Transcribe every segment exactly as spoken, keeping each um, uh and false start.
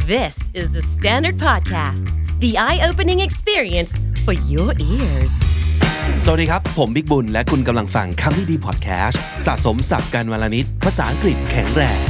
This is the Standard Podcast, the eye-opening experience for your ears. สวัสดีครับผมบิ๊กบุญและคุณกำลังฟังคำนี้ดีพอดแคสต์สะสมศัพท์กันวลนิดภาษาอังกฤษแข็งแรง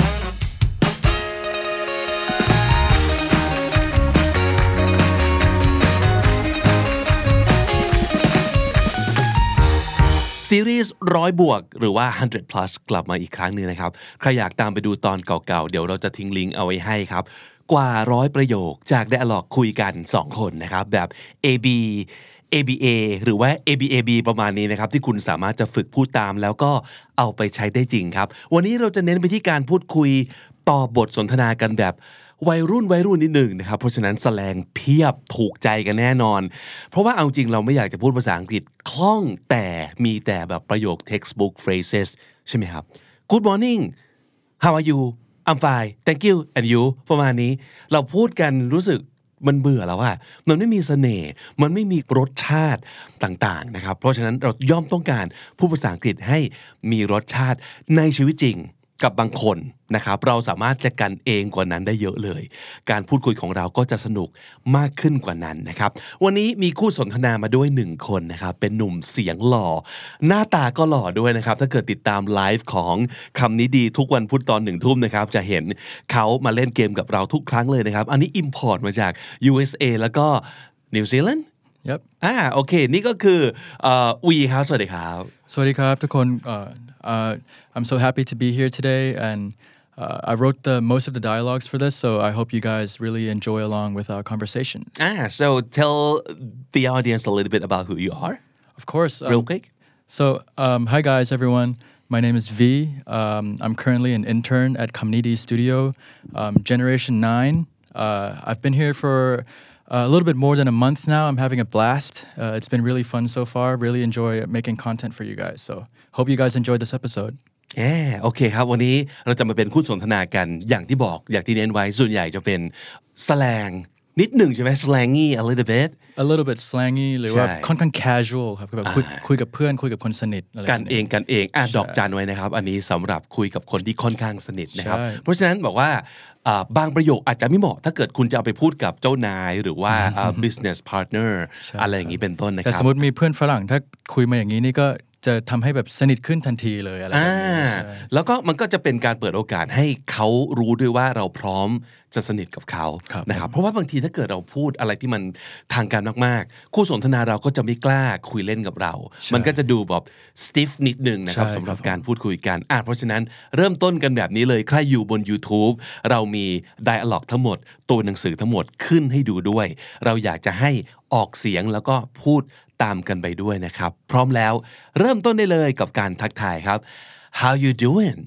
ซีรีส์ร้อยบวกหรือว่าหนึ่งร้อย plus กลับมาอีกครั้งนึงนะครับใครอยากตามไปดูตอนเก่าๆเดี๋ยวเราจะทิ้งลิงก์เอาไว้ให้ครับกว่าร้อยประโยคจาก dialog คุยกันสองคนนะครับแบบ เอ บี เอ บี เอ หรือว่า เอ บี เอ บี ประมาณนี้นะครับที่คุณสามารถจะฝึกพูดตามแล้วก็เอาไปใช้ได้จริงครับวันนี้เราจะเน้นไปที่การพูดคุยต่อบทสนทนากันแบบวัยรุ่นวัยรุ่นนิดหนึ่งนะครับเพราะฉะนั้นแสลงเพียบถูกใจกันแน่นอนเพราะว่าเอาจริงเราไม่อยากจะพูดภาษาอังกฤษคล่องแต่มีแต่แบบประโยค textbook phrases ใช่ไหมครับ Good morning How are you I'm fine Thank you and you ประมาณนี้เราพูดกันรู้สึกมันเบื่อแล้วอะมันไม่มีเสน่ห์มันไม่มีรสชาติต่างๆนะครับเพราะฉะนั้นเราย่อมต้องการพูดภาษาอังกฤษให้มีรสชาติในชีวิตจริงกับบางคนนะครับเราสามารถจะกันเองกว่านั้นได้เยอะเลยการพูดคุยของเราก็จะสนุกมากขึ้นกว่านั้นนะครับวันนี้มีคู่สนทนามาด้วยหนึ่งคนนะครับเป็นหนุ่มเสียงหล่อหน้าตาก็หล่อด้วยนะครับถ้าเกิดติดตามไลฟ์ของคำนี้ดีทุกวันพุธตอนหนึ่งทุ่มนะครับจะเห็นเขามาเล่นเกมกับเราทุกครั้งเลยนะครับอันนี้อิมพอร์ตมาจาก ยู เอส เอ แล้วก็นิวซีแลนด์ Yep. อ่าโอเคนี่ก็คือเอ่อวีครับสวัสดีครับสวัสดีครับทุกคน uh, uh, I'm so happy to be here today and uh, I wrote the most of the dialogues for this so I hope you guys really enjoy along with our conversations. Ah, so tell the audience a little bit about who you are. Of course. Um, Real quick. So um, hi guys everyone. My name is V. Um, I'm currently an intern at Community Studio, um, Generation nine. Uh, I've been here for Uh, a little bit more than a month now. I'm having a blast. Uh, it's been really fun so far. Really enjoy making content for you guys. So hope you guys enjoyed this episode. แย่โอเคครับวันนี้เราจะมาเป็นคู่สนทนากันอย่างที่บอกอย่างที่เน้นไว้ส่วนใหญ่จะเป็นสแลงนิดหนึ่งใช่ไหม slangy a little bit a little bit slangy หรือว่าค่อนข้าง casual ครับแบบคุยคุยกับเพื่อนคุยกับคนสนิทอะไรกันเองกันเองอ่ะดอกจันไว้นะครับอันนี้สำหรับคุยกับคนที่ค่อนข้างสนิทนะครับเพราะฉะนั้นบอกว่าบางประโยคอาจจะไม่เหมาะถ้าเกิดคุณจะเอาไปพูดกับเจ้านายหรือว่า business partner อะไรอย่างนี้เป็นต้นนะครับแต่สมมติมีเพื่อนฝรั่งถ้าคุยมาอย่างนี้นี่ก็จะทำให้แบบสนิทขึ้นทันทีเลยอะไรแบบนี้แล้วก็มันก็จะเป็นการเปิดโอกาสให้เขารู้ด้วยว่าเราพร้อมจะสนิทกับเขานะครับเพราะว่าบางทีถ้าเกิดเราพูดอะไรที่มันทางการมากๆคู่สนทนาเราก็จะไม่กล้าคุยเล่นกับเรามันก็จะดูแบบ stiff นิดนึงนะครับสำหรับการพูดคุยกันอ่ะเพราะฉะนั้นเริ่มต้นกันแบบนี้เลยใครอยู่บน YouTube เรามี dialog ทั้งหมดตัวหนังสือทั้งหมดขึ้นให้ดูด้วยเราอยากจะให้ออกเสียงแล้วก็พูดตามกันไปด้วยนะครับพร้อมแล้วเริ่มต้นได้เลยกับการทักทายครับ How you doing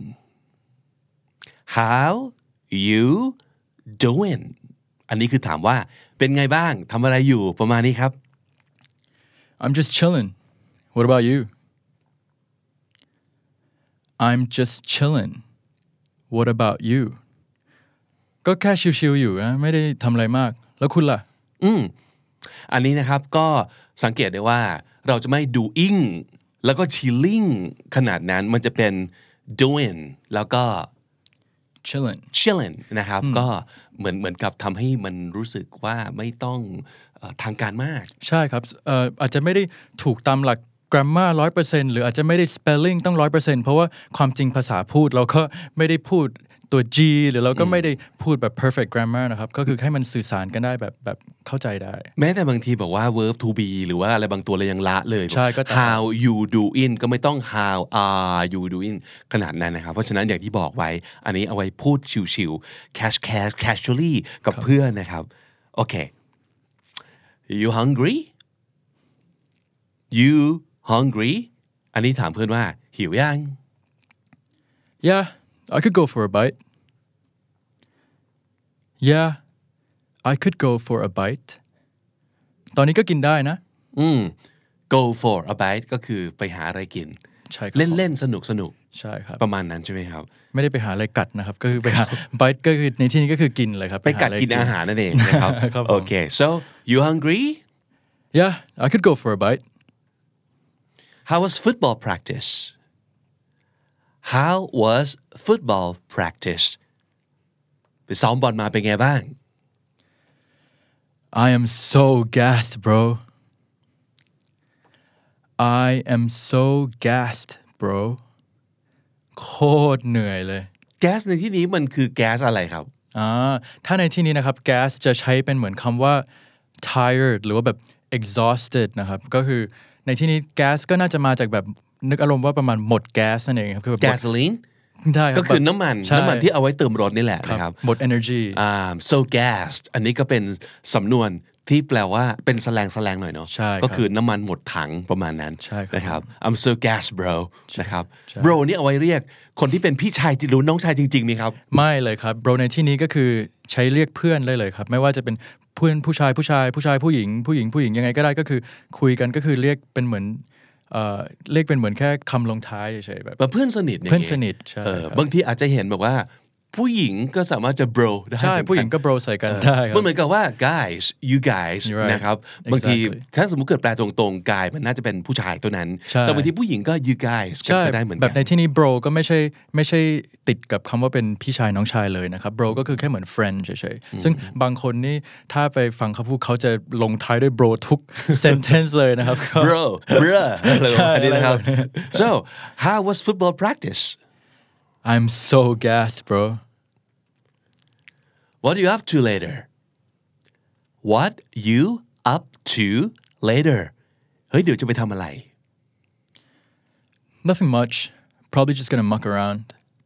How you doing อันนี้คือถามว่าเป็นไงบ้างทำอะไรอยู่ประมาณนี้ครับ I'm just chilling What about you I'm just chilling What about you ก็แค่ชิลๆอยู่นะไม่ได้ทำอะไรมากแล้วคุณล่ะอืมอันนี้นะครับก็สังเกตได้ว่าเราจะไม่ doing แล้วก็ chilling ขนาดนั้นมันจะเป็น doing แล้วก็ chilling chilling นะครับก็เหมือนเหมือนกับทำให้มันรู้สึกว่าไม่ต้องเอ่อทางการมากใช่ครับเอ่ออาจจะไม่ได้ถูกตามหลัก grammar ร้อยเปอร์เซ็นต์ หรืออาจจะไม่ได้ spelling ต้อง ร้อยเปอร์เซ็นต์ เพราะว่าความจริงภาษาพูดเราก็ไม่ได้พูดตัว G หรือเราก็ไม่ได้พูดแบบ perfect grammar นะครับก็คือให้มันสื่อสารกันได้แบบแบบเข้าใจได้แม้แต่บางทีบอกว่า verb to be หรือว่าอะไรบางตัวเรายังละเลยใช่ก็ how you doing ก็ไม่ต้อง how are you doing ขนาดนั้นนะครับเพราะฉะนั้นอย่างที่บอกไว้อันนี้เอาไว้พูดชิวๆ cash cash casually กับเพื่อนนะครับโอเค you hungry you hungry อันนี้ถามเพื่อนว่าหิวยัง yeah I could go for a bite yeah I could go for a bite ตอนนี้ก็กินได้นะอืม go for a bite ก็คือไปหาอะไรกินใช่เล่นๆสนุกๆใช่ครับประมาณนั้นใช่ไหมครับไม่ได้ไปหาอะไรกัดนะครับก็คือไปหา bite ก็คือในที่นี้ก็คือกินเลยครับไปกัดกินอาหารนั่นเองนะครับโอเค so you hungry yeah I could go for a bite how was football practice how was football practice ไปซ้อมบอลมาเป็นไงบ้าง I am so gassed bro I am so gassed bro โคตรเหนื่อยเลยแก๊สในที่นี้มันคือแก๊สอะไรครับอ่าถ้าในที่นี้นะครับ gas จะใช้เป็นเหมือนคำว่า tired หรือว่าแบบ exhausted นะครับก็คือในที่นี้ gas ก็น่าจะมาจากแบบนึกอารมณ์ว่าประมาณหมดแก๊สนั่นเองครับคือแบบ gasoline ได้ครับก็คือน้ำมันน้ำมันที่เอาไว้เติมรถนี่แหละนะครับหมด energy อ่า so gassed อันนี้ก็เป็นสำนวนที่แปลว่าเป็นแสลงแสลงหน่อยเนาะก็คือน้ำมันหมดถังประมาณนั้นนะครับ I'm so gassed bro นะครับ bro นี่เอาไว้เรียกคนที่เป็นพี่ชายหรือน้องชายจริงๆมั้ยครับไม่เลยครับ bro ในที่นี้ก็คือใช้เรียกเพื่อนได้เลยครับไม่ว่าจะเป็นเพื่อนผู้ชายผู้ชายผู้ชายผู้หญิงผู้หญิงผู้หญิงยังไงก็ได้ก็คือคุยกันก็คือเรียกเป็นเหมือนเอ่อเรียกเป็นเหมือนแค่คำลงท้ายเฉยๆแบบเพื่อนสนิทเพื่อนสนิทใช่บางทีอาจจะเห็นแบบว่าผู้หญิงก็สามารถจะ bro ได้ใช่ผู้หญิงก็ bro ใส่กันได้ครับมันเหมือนกับว่า guys you guys นะครับบางทีถ้าสมมุติเกิดแปลตรงๆ guy มันน่าจะเป็นผู้ชายตัวนั้นแต่บางทีผู้หญิงก็ you guys ก็ได้เหมือนกันแบบในที่นี้ bro ก็ไม่ใช่ไม่ใช่ติดกับคำว่าเป็นพี่ชายน้องชายเลยนะครับ bro ก็คือแค่เหมือน friend เฉยๆซึ่งบางคนนี่ถ้าไปฟังเขาพูดเขาจะลงท้ายด้วย bro ทุก sentence เลยนะครับ bro bro อันนี้นะครับ so how was football practice I'm so gassed bro What are you up to later What you up to later เฮ้ยเดี๋ยวจะไปทำอะไร Nothing much probably just gonna muck around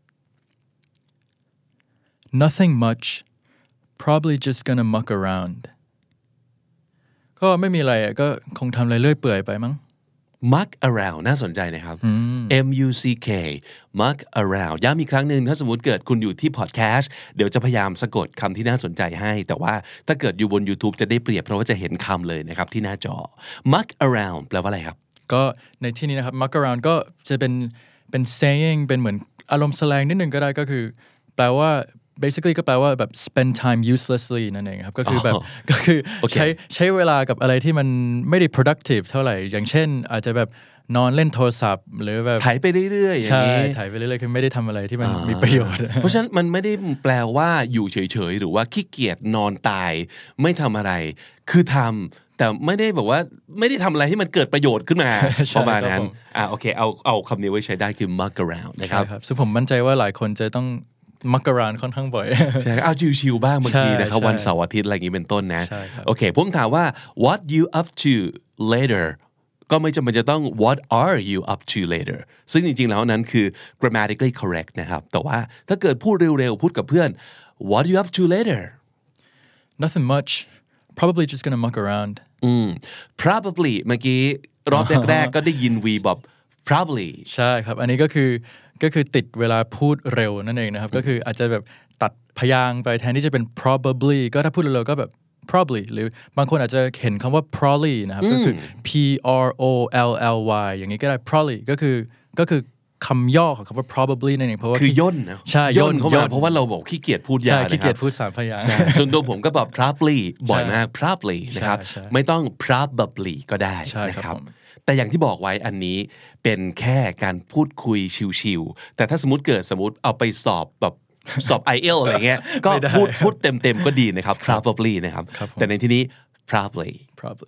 Nothing much probably just gonna muck around ก็ไม่มีอะไรอ่ะก็คงทำอะไรเรื่อยเปื่อยไปมั้ง muck around น่าสนใจนะครับ M U C K muck around ย้ำอีกครั้งหนึ่งถ้าสมมติเกิดคุณอยู่ที่พอดแคสต์เดี๋ยวจะพยายามสะกดคำที่น่าสนใจให้แต่ว่าถ้าเกิดอยู่บน YouTube จะได้เปรียบเพราะว่าจะเห็นคำเลยนะครับที่หน้าจอ muck around แปลว่าอะไรครับก็ในที่นี้นะครับ muck around ก็จะเป็นเป็น saying เป็นเหมือนอารมณ์แสลงนิดนึงก็ได้ก็คือแปลว่าbasically ก็แปลว่าแบบ spend time uselessly นั่นเองครับก็คือแบบก็คือใช้ใช้เวลากับอะไรที่มันไม่ได้ productive เท่าไหร่อย่างเช่นอาจจะแบบนอนเล่นโทรศัพท์หรือแบบถ่ายไปเรื่อยๆอย่างนี้ใช่ถ่ายไปเรื่อยๆคือไม่ได้ทำอะไรที่มันมีประโยชน์เพราะฉะนั้นมันไม่ได้แปลว่าอยู่เฉยๆหรือว่าขี้เกียจนอนตายไม่ทำอะไรคือทำแต่ไม่ได้บอกว่าไม่ได้ทำอะไรให้มันเกิดประโยชน์ขึ้นมาประมาณนั้นอ่าโอเคเอาเอาคำนี้ไว้ใช้ได้คือ muck around นะครับซึ่งผมมั่นใจว่าหลายคนจะต้องมักกะรานค่อนข้างบ่อยใช่เอาชิวๆบ้างบางทีนะครับวันเสาร์อาทิตย์อะไรอย่างนี้เป็นต้นนะโอเคผมถามว่า what you up to later ก็ไม่จำเป็นจะต้อง what are you up to later ซึ่งจริงๆแล้วนั้นคือ grammatically correct นะครับแต่ว่าถ้าเกิดพูดเร็วๆพูดกับเพื่อน what you up to later nothing much probably just gonna muck around อืม probably เมื่อกี้รอบแรกๆก็ได้ยิน we แบบ probably ใช่ครับอันนี้ก็คือก็คือติดเวลาพูดเร็วนั่นเองนะครับก็คืออาจจะแบบตัดพยางค์ไปแทนที่จะเป็น probably ก็ถ้าพูดเร็วๆก็แบบ probably หรือบางคนอาจจะเห็นคำว่า probably นะครับก็คือ P R O L L Y อย่างนี้ก็ได้ probably ก็คือก็คือคำย่อของคำว่า probably นั่นเองเพราะว่าคือย่นนะใช่ย่นเข้ามาเพราะว่าเราบอกขี้เกียจพูดยาวนะครับใช่ขี้เกียจพูดสามพยางค์ส่วนตัวผมก็แบบ probably บ่อยมาก probably นะครับไม่ต้อง probably ก็ได้นะครับแต่อย่างที่บอกไว้อันนี้เป็นแค่การพูดคุยชิวๆแต่ถ้าสมมติเกิดสมมติเอาไปสอบแบบสอบ ไอ เอล อะไรเงี้ยก็พูดพูดเต็มๆก็ดีนะครับ probably นะครับแต่ในที่นี้ probably probably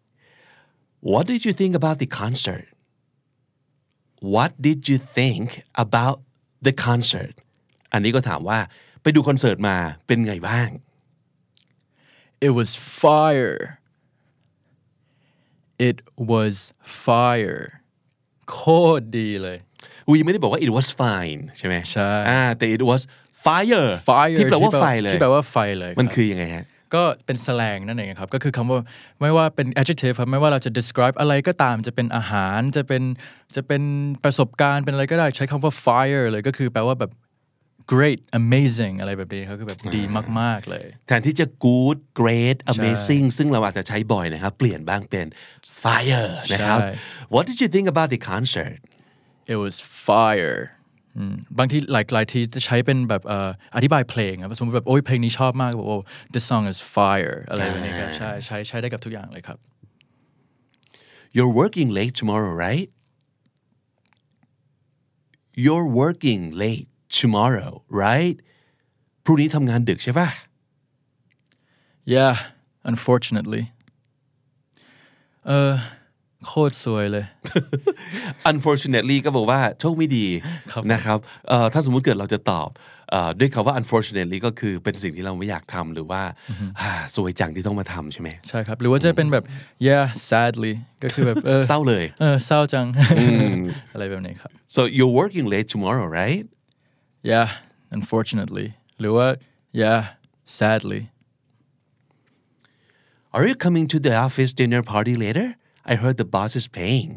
What did you think about the concert What did you think about the concert อันนี้ก็ถามว่าไปดูคอนเสิร์ตมาเป็นไงบ้าง It was fire It was fire โคตรดีเลยวีไม่ได้บอกว่า it was fine ใช่ไหมใช่อ่าแต่ it was fire fire ที่แปลว่าไฟเลยที่แปลว่าไฟเลยมันคือยังไงฮะก็เป็นแสลงนั่นเองครับก็คือคำว่าไม่ว่าเป็น adjective ครับไม่ว่าเราจะ describe อะไรก็ตามจะเป็นอาหารจะเป็นจะเป็นประสบการณ์เป็นอะไรก็ได้ใช้คำว่า fire เลยก็คือแปลว่าแบบ great amazing อะไรแบบนี้ครับคือแบบดีมากๆเลยแทนที่จะ good great amazing ซึ่งเราอาจจะใช้บ่อยนะครับเปลี่ยนบ้างเป็น fire นะครับ What did you think about the concert It was fire บางทีหลายหลายทีจะใช้เป็นแบบอธิบายเพลงครับสมมติแบบโอ้ยเพลงนี้ชอบมากแบบโอ้ this song is fire อะไรแบบนี้ครับใช่ใช้ใช้ได้กับทุกอย่างเลยครับ You're working late tomorrow right You're working late tomorrow right พรุ่งนี้ทำงานดึกใช่ป่ะ Yeah unfortunately เออโคตรสวยเลย unfortunately ก็บอกว่าโชคไม่ดีนะครับเอ่อถ้าสมมุติเกิดเราจะตอบเอ่อด้วยคำว่า unfortunately ก็คือเป็นสิ่งที่เราไม่อยากทำหรือว่าสวยจังที่ต้องมาทำใช่ไหมใช่ครับหรือว่าจะเป็นแบบ yeah sadly ก็คือแบบเออเศร้าเลยเออเศร้าจัง อะไรแบบนี้ครับ so you're working late tomorrow right yeah unfortunately หรือว่า yeah sadly are you coming to the office dinner party later I heard the boss is paying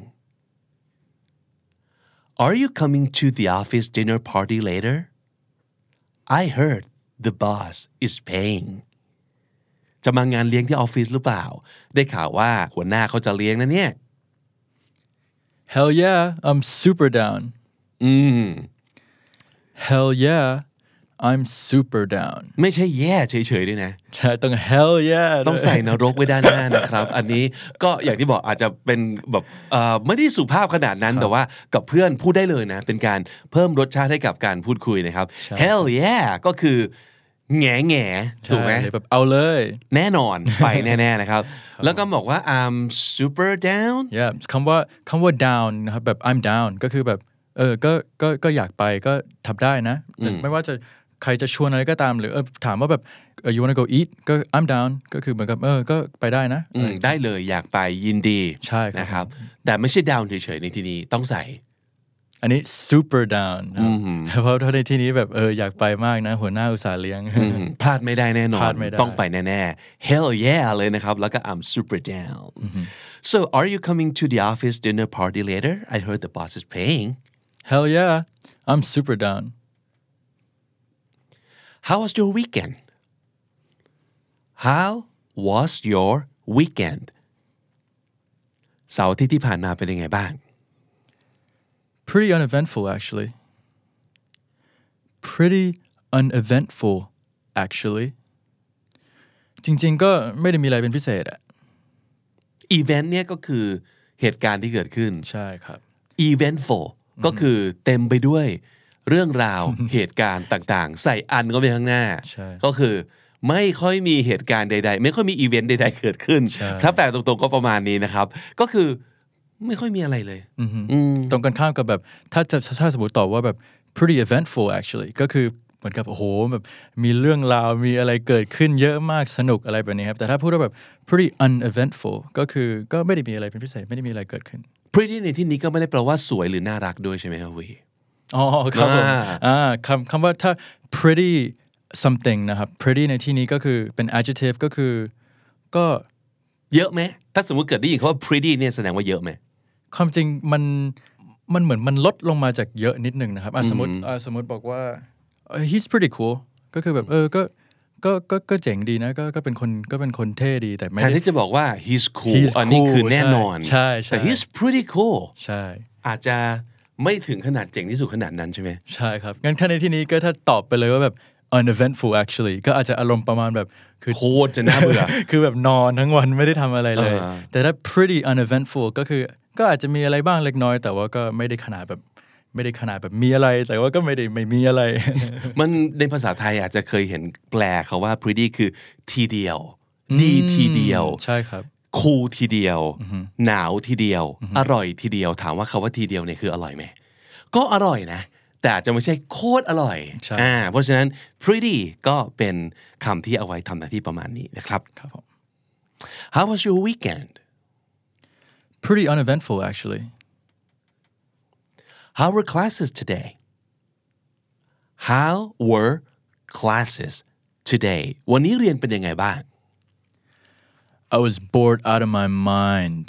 are you coming to the office dinner party later I heard the boss is paying จะมางานเลี้ยงที่ออฟฟิศหรือเปล่าได้ข่าวว่าหัวหน้าเขาจะเลี้ยงนะเนี่ย hell yeah I'm super down อืม hell yeah I'm super down ไม่ใช่แย่เฉยๆด้วยนะใช่ต้อง hell yeah ต้องใส่นรกไว้ด้านหน้านะครับอันนี้ก็อย่างที่บอกอาจจะเป็นแบบเอ่อไม่ได้สุภาพขนาดนั้นแต่ว่ากับเพื่อนพูดได้เลยนะเป็นการเพิ่มรสชาติให้กับการพูดคุยนะครับ hell yeah ก็คือแง่แง่ถูกไหมแบบเอาเลยแน่นอนไปแน่ๆนะครับแล้วก็บอกว่า I'm super down yeah คำว่าคำว่า down นะครับแบบ I'm down ก็คือแบบเออก็ก็ก็อยากไปก็ทำได้นะไม่ว่าจะใครจะชวนอะไรก็ตามหรือเออถามว่าแบบ you wanna go eat ก็ I'm down ก็คือเหมือนกับเออก็ไปได้นะได้เลยอยากไปยินดีใช่นะครับแต่ไม่ใช่ down เฉยๆในที่นี้ต้องใส่อันนี้ super down เพราะในที่นี้แบบเอออยากไปมากนะหัวหน้าอุตส่าห์เลี้ยงพลาดไม่ได้แน่นอนต้องไปแน่ๆ hell yeah เลยนะครับแล้วก็ I'm super down so are you coming to the office dinner party later I heard the boss is paying hell yeah I'm super down how was your weekend how was your weekend เสาร์อาทิตย์ที่ผ่านมาเป็นยังไงบ้าง Pretty uneventful actually pretty uneventful actually จริงๆก็ไม่ได้มีอะไรเป็นพิเศษอะ event เนี่ยก็คือเหตุการณ์ที่เกิดขึ้นใช่ครับ eventful ก็คือเต็มไปด้วยเรื่องราว เหตุการณ์ต่างๆใส่อันก็ไปข้างหน้าก็คือไม่ค่อยมีเหตุการณ์ใดๆไม่ค่อยมีอีเวนต์ใดๆเกิดขึ้นถ้าแปลตรงๆก็ประมาณนี้นะครับก็คือไม่ค่อยมีอะไรเลยตรงกันข้ามกับแบบถ้าจะถ้าสมมติตอบว่าแบบ pretty eventful actually ก็คือเหมือนกับโอ้โหแบบมีเรื่องราวมีอะไรเกิดขึ้นเยอะมากสนุกอะไรแบบนี้ครับแต่ถ้าพูดว่าแบบ pretty uneventful ก็คือก็ไม่ได้มีอะไรเป็นพิเศษไม่ได้มีอะไรเกิดขึ้น pretty ในที่นี้ก็ไม่ได้แปลว่าสวยหรือน่ารักด้วยใช่ไหมครับวีอ๋อครับผมอ่าคำคำว่าถ้า pretty something นะครับ pretty ในที่นี้ก็คือเป็น adjective ก็คือก็เยอะไหมถ้าสมมติเกิดได้ยินคำว่า pretty เนี่ยแสดงว่าเยอะไหมความจริงมันมันเหมือนมันลดลงมาจากเยอะนิดนึงนะครับสมมติสมมติบอกว่า he's pretty cool ก็คือแบบเออก็ก็ก็ก็เจ๋งดีนะก็ก็เป็นคนก็เป็นคนเท่ดีแต่ไม่แทนที่จะบอกว่า he's cool อันนี้คือแน่นอนใช่แต่ he's pretty cool ใช่อาจจะไม่ถึงขนาดเจ๋งที่สุดขนาดนั้นใช่ไหมใช่ครับงั้นถ้าในที่นี้ก็ถ้าตอบไปเลยว่าแบบ uneventful actually ก็อาจจะอารมณ์ประมาณแบบคือโคตรจะน่าเบื่อคือแบบนอนทั้งวันไม่ได้ทำอะไรเลยแต่ถ้า pretty uneventful ก็คือก็อาจจะมีอะไรบ้างเล็กน้อยแต่ว่าก็ไม่ได้ขนาดแบบไม่ได้ขนาดแบบมีอะไรแต่ว่าก็ไม่ได้ไม่มีอะไรมันในภาษาไทยอาจจะเคยเห็นแปลเขาว่า pretty คือทีเดียวดีทีเดียวใช่ครับคูลทีเดียวหนาวทีเดียวอร่อยทีเดียวถามว่าคาว่าทีเดียวเนี่ยคืออร่อยไหมก็อร่อยนะแต่อาจจะไม่ใช่โคตรอร่อยอ่าเพราะฉะนั้น pretty ก็เป็นคำที่เอาไว้ทำหน้าที่ประมาณนี้นะครับครับผม How was your weekend Pretty uneventful actually How were classes today How were classes today วันนี้เรียนเป็นยังไงบ้าง I was bored out of my mind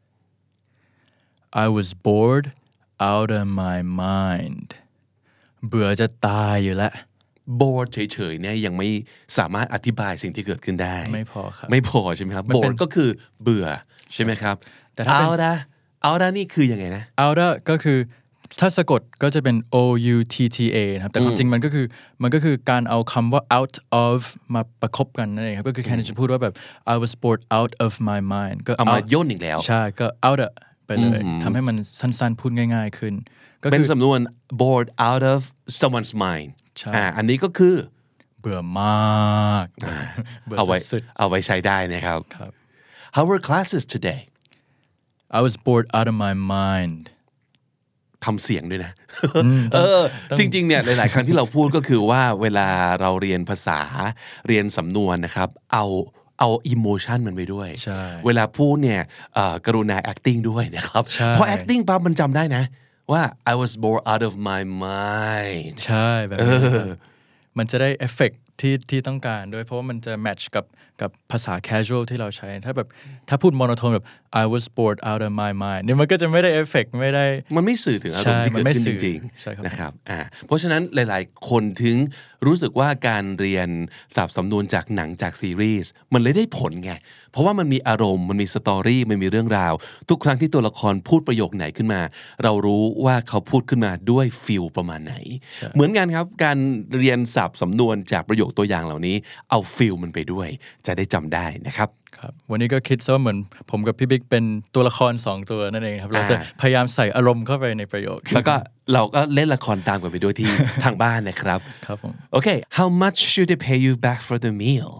I was bored out of my mind เบื่อจะตายอยู่แล้ว bored เฉยๆเนี่ยยังไม่สามารถอธิบายสิ่งที่เกิดขึ้นได้ไม่พอครับไม่พอใช่ไหมครับ bored ก็คือเบื่อใช่ไหมครับแต่ถ้า out อะ out นี่คือยังไงนะ out ก็คือถ้าสะกดก็จะเป็น o u t t a นะครับแต่ความจริงมันก็คือมันก็คือการเอาคำว่า out of มาประคบกันนั่นเองครับก็คือแค่จะพูดว่าแบบ I was bored out of my mind ก็เอามาย่นอีกแล้วใช่ก็ out ไปเลยทำให้มันสั้นๆพูดง่ายๆขึ้นเป็นสำนวน bored out of someone's mind อ่าอันนี้ก็คือเบื่อมากเบื่อเอาไว้สุดเอาไว้ใช้ได้นะครับๆครับ How were classes today I was bored out of my mind ทำเสียงด้วยนะเออจริงๆเนี่ยหลายๆครั้งที่เราพูดก็คือว่าเวลาเราเรียนภาษาเรียนสำนวนนะครับเอาเอาอิโมชันมันไปด้วยเวลาพูดเนี่ยกรุณา acting ด้วยนะครับเพราะ acting ปั๊บมันจำได้นะว่า I was bored out of my mind ใช่แบบนี้มันจะได้เอฟเฟกต์ที่ที่ต้องการด้วยเพราะว่ามันจะแมทช์กับกับภาษา casual ที่เราใช้ถ้าแบบถ้าพูดโมโนโทนแบบ I was bored out of my mind เนี่ยมันก็จะไม่ได้เอฟเฟกต์ไม่ได้มันไม่สื่อถึงอารมณ์ที่เกิดขึ้นจริงๆนะครับอ่าเพราะฉะนั้นหลายๆคนถึงรู้สึกว่าการเรียนศัพท์สำนวนจากหนังจากซีรีส์มันเลยได้ผลไงเพราะว่ามันมีอารมณ์มันมีสตอรี่มันมีเรื่องราวทุกครั้งที่ตัวละครพูดประโยคไหนขึ้นมาเรารู้ว่าเขาพูดขึ้นมาด้วยฟีลประมาณไหนเหมือนกันครับการเรียนศัพท์สำนวนจากประโยคตัวอย่างเหล่านี้เอาฟีลมันไปด้วยจะได้จำได้นะครับครับวันนี้ก็คิดซะว่าเหมือนผมกับพี่บิ๊กเป็นตัวละครสองตัวนั่นเองครับเราจะพยายามใส่อารมณ์เข้าไปในประโยคแล้วก็เราก็เล่นละครตามกันไปด้วยที่ทางบ้านนะครับครับผม Okay how much should they pay you back for the meal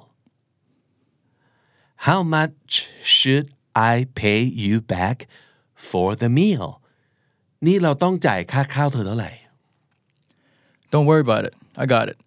How much should I pay you back for the meal นี่เราต้องจ่ายค่าข้าวเธอเท่าไหร่ Don't worry about it I got it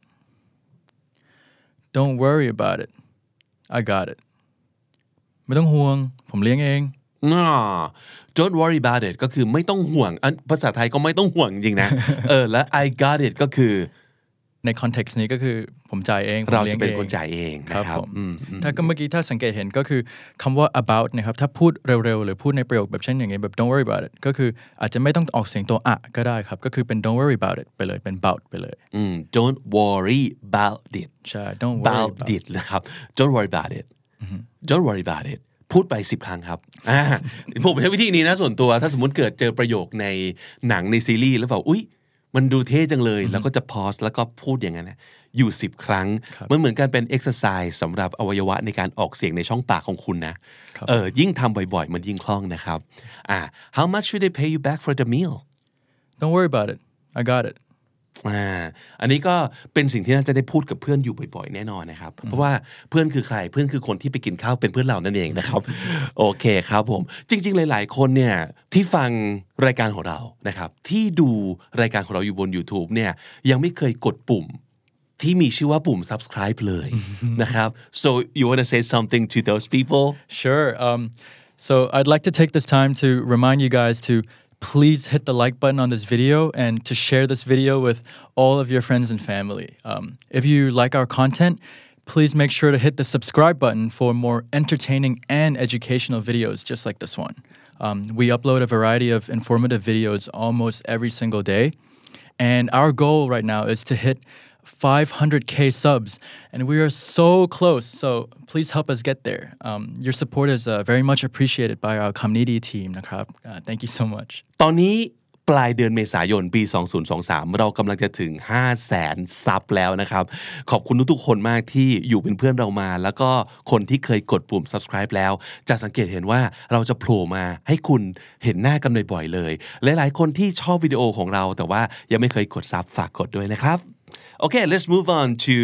Don't worry about it I got it ไม่ต้องห่วงผมเลี้ยงเอง no Don't worry about it ก็คือไม่ต้องห่วงภาษาไทยก็ไม่ต้องห่วงจริงนะ เออแล้ว I got it ก็คือในคอนเท็กซ์นี้ก็คือผมจ่ายเองเราจะเป็นคนจ่ายเองนะครับถ้าก็เมื่อกี้ถ้าสังเกตเห็นก็คือคำว่า about นะครับถ้าพูดเร็วๆหรือพูดในประโยคแบบเช่นอย่างเงี้ยแบบ don't worry about it ก็คืออาจจะไม่ต้องออกเสียงตัวอะก็ได้ครับก็คือเป็น don't worry about it ไปเลยเป็น about ไปเลยอืม don't worry about it ใช่ don't worry about it นะครับ don't worry about it don't worry about it พูดไปสิบครั้งครับผมใช้วิธีนี้นะส่วนตัวถ้าสมมติเกิดเจอประโยคในหนังในซีรีส์แล้วแบบอุ๊ยมันดูเท่จังเลยแล้วก็จะพอสแล้วก็พูดอย่างนั้นนะอยู่สิบครั้งมันเหมือนกันเป็นเอ็กซ์ไซส์สำหรับอวัยวะในการออกเสียงในช่องปากของคุณนะเออยิ่งทำบ่อยๆมันยิ่งคล่องนะครับอ่า How much should they pay you back for the meal Don't worry about it I got it อ่าอันนี้ก็เป็นสิ่งที่น่าจะได้พูดกับเพื่อนอยู่บ่อยๆแน่นอนนะครับเพราะว่าเพื่อนคือใครเพื่อนคือคนที่ไปกินข้าวเป็นเพื่อนเรานั่นเองนะครับโอเคครับผมจริงๆหลายๆคนเนี่ยที่ฟังรายการของเรานะครับที่ดูรายการของเราอยู่บน YouTube เนี่ยยังไม่เคยกดปุ่มที่มีชื่อว่าปุ่ม subscribe เลยนะครับ so you want to say something to those people Sure um so I'd like to take this time to remind you guys to please hit the like button on this video and to share this video with all of your friends and family. Um, if you like our content, please make sure to hit the subscribe button for more entertaining and educational videos just like this one. Um, we upload a variety of informative videos almost every single day. And our goal right now is to hit five hundred K subs, and we are so close. So please help us get there. Um, your support is uh, very much appreciated by our community team. Uh, thank you so much. ตอนนี้ปลายเดือนเมษายนปีสองพันยี่สิบสามเรากำลังจะถึง ห้าแสน ซับแล้วนะครับขอบคุณทุกๆคนมากที่อยู่เป็นเพื่อนเรามาแล้วก็คนที่เคยกดปุ่ม subscribe แล้วจะสังเกตเห็นว่าเราจะโผล่มาให้คุณเห็นหน้ากันบ่อยๆเลยหลายๆคนที่ชอบวิดีโอของเราแต่ว่ายังไม่เคยกดซับฝากกดด้วยนะครับOkay, let's move on to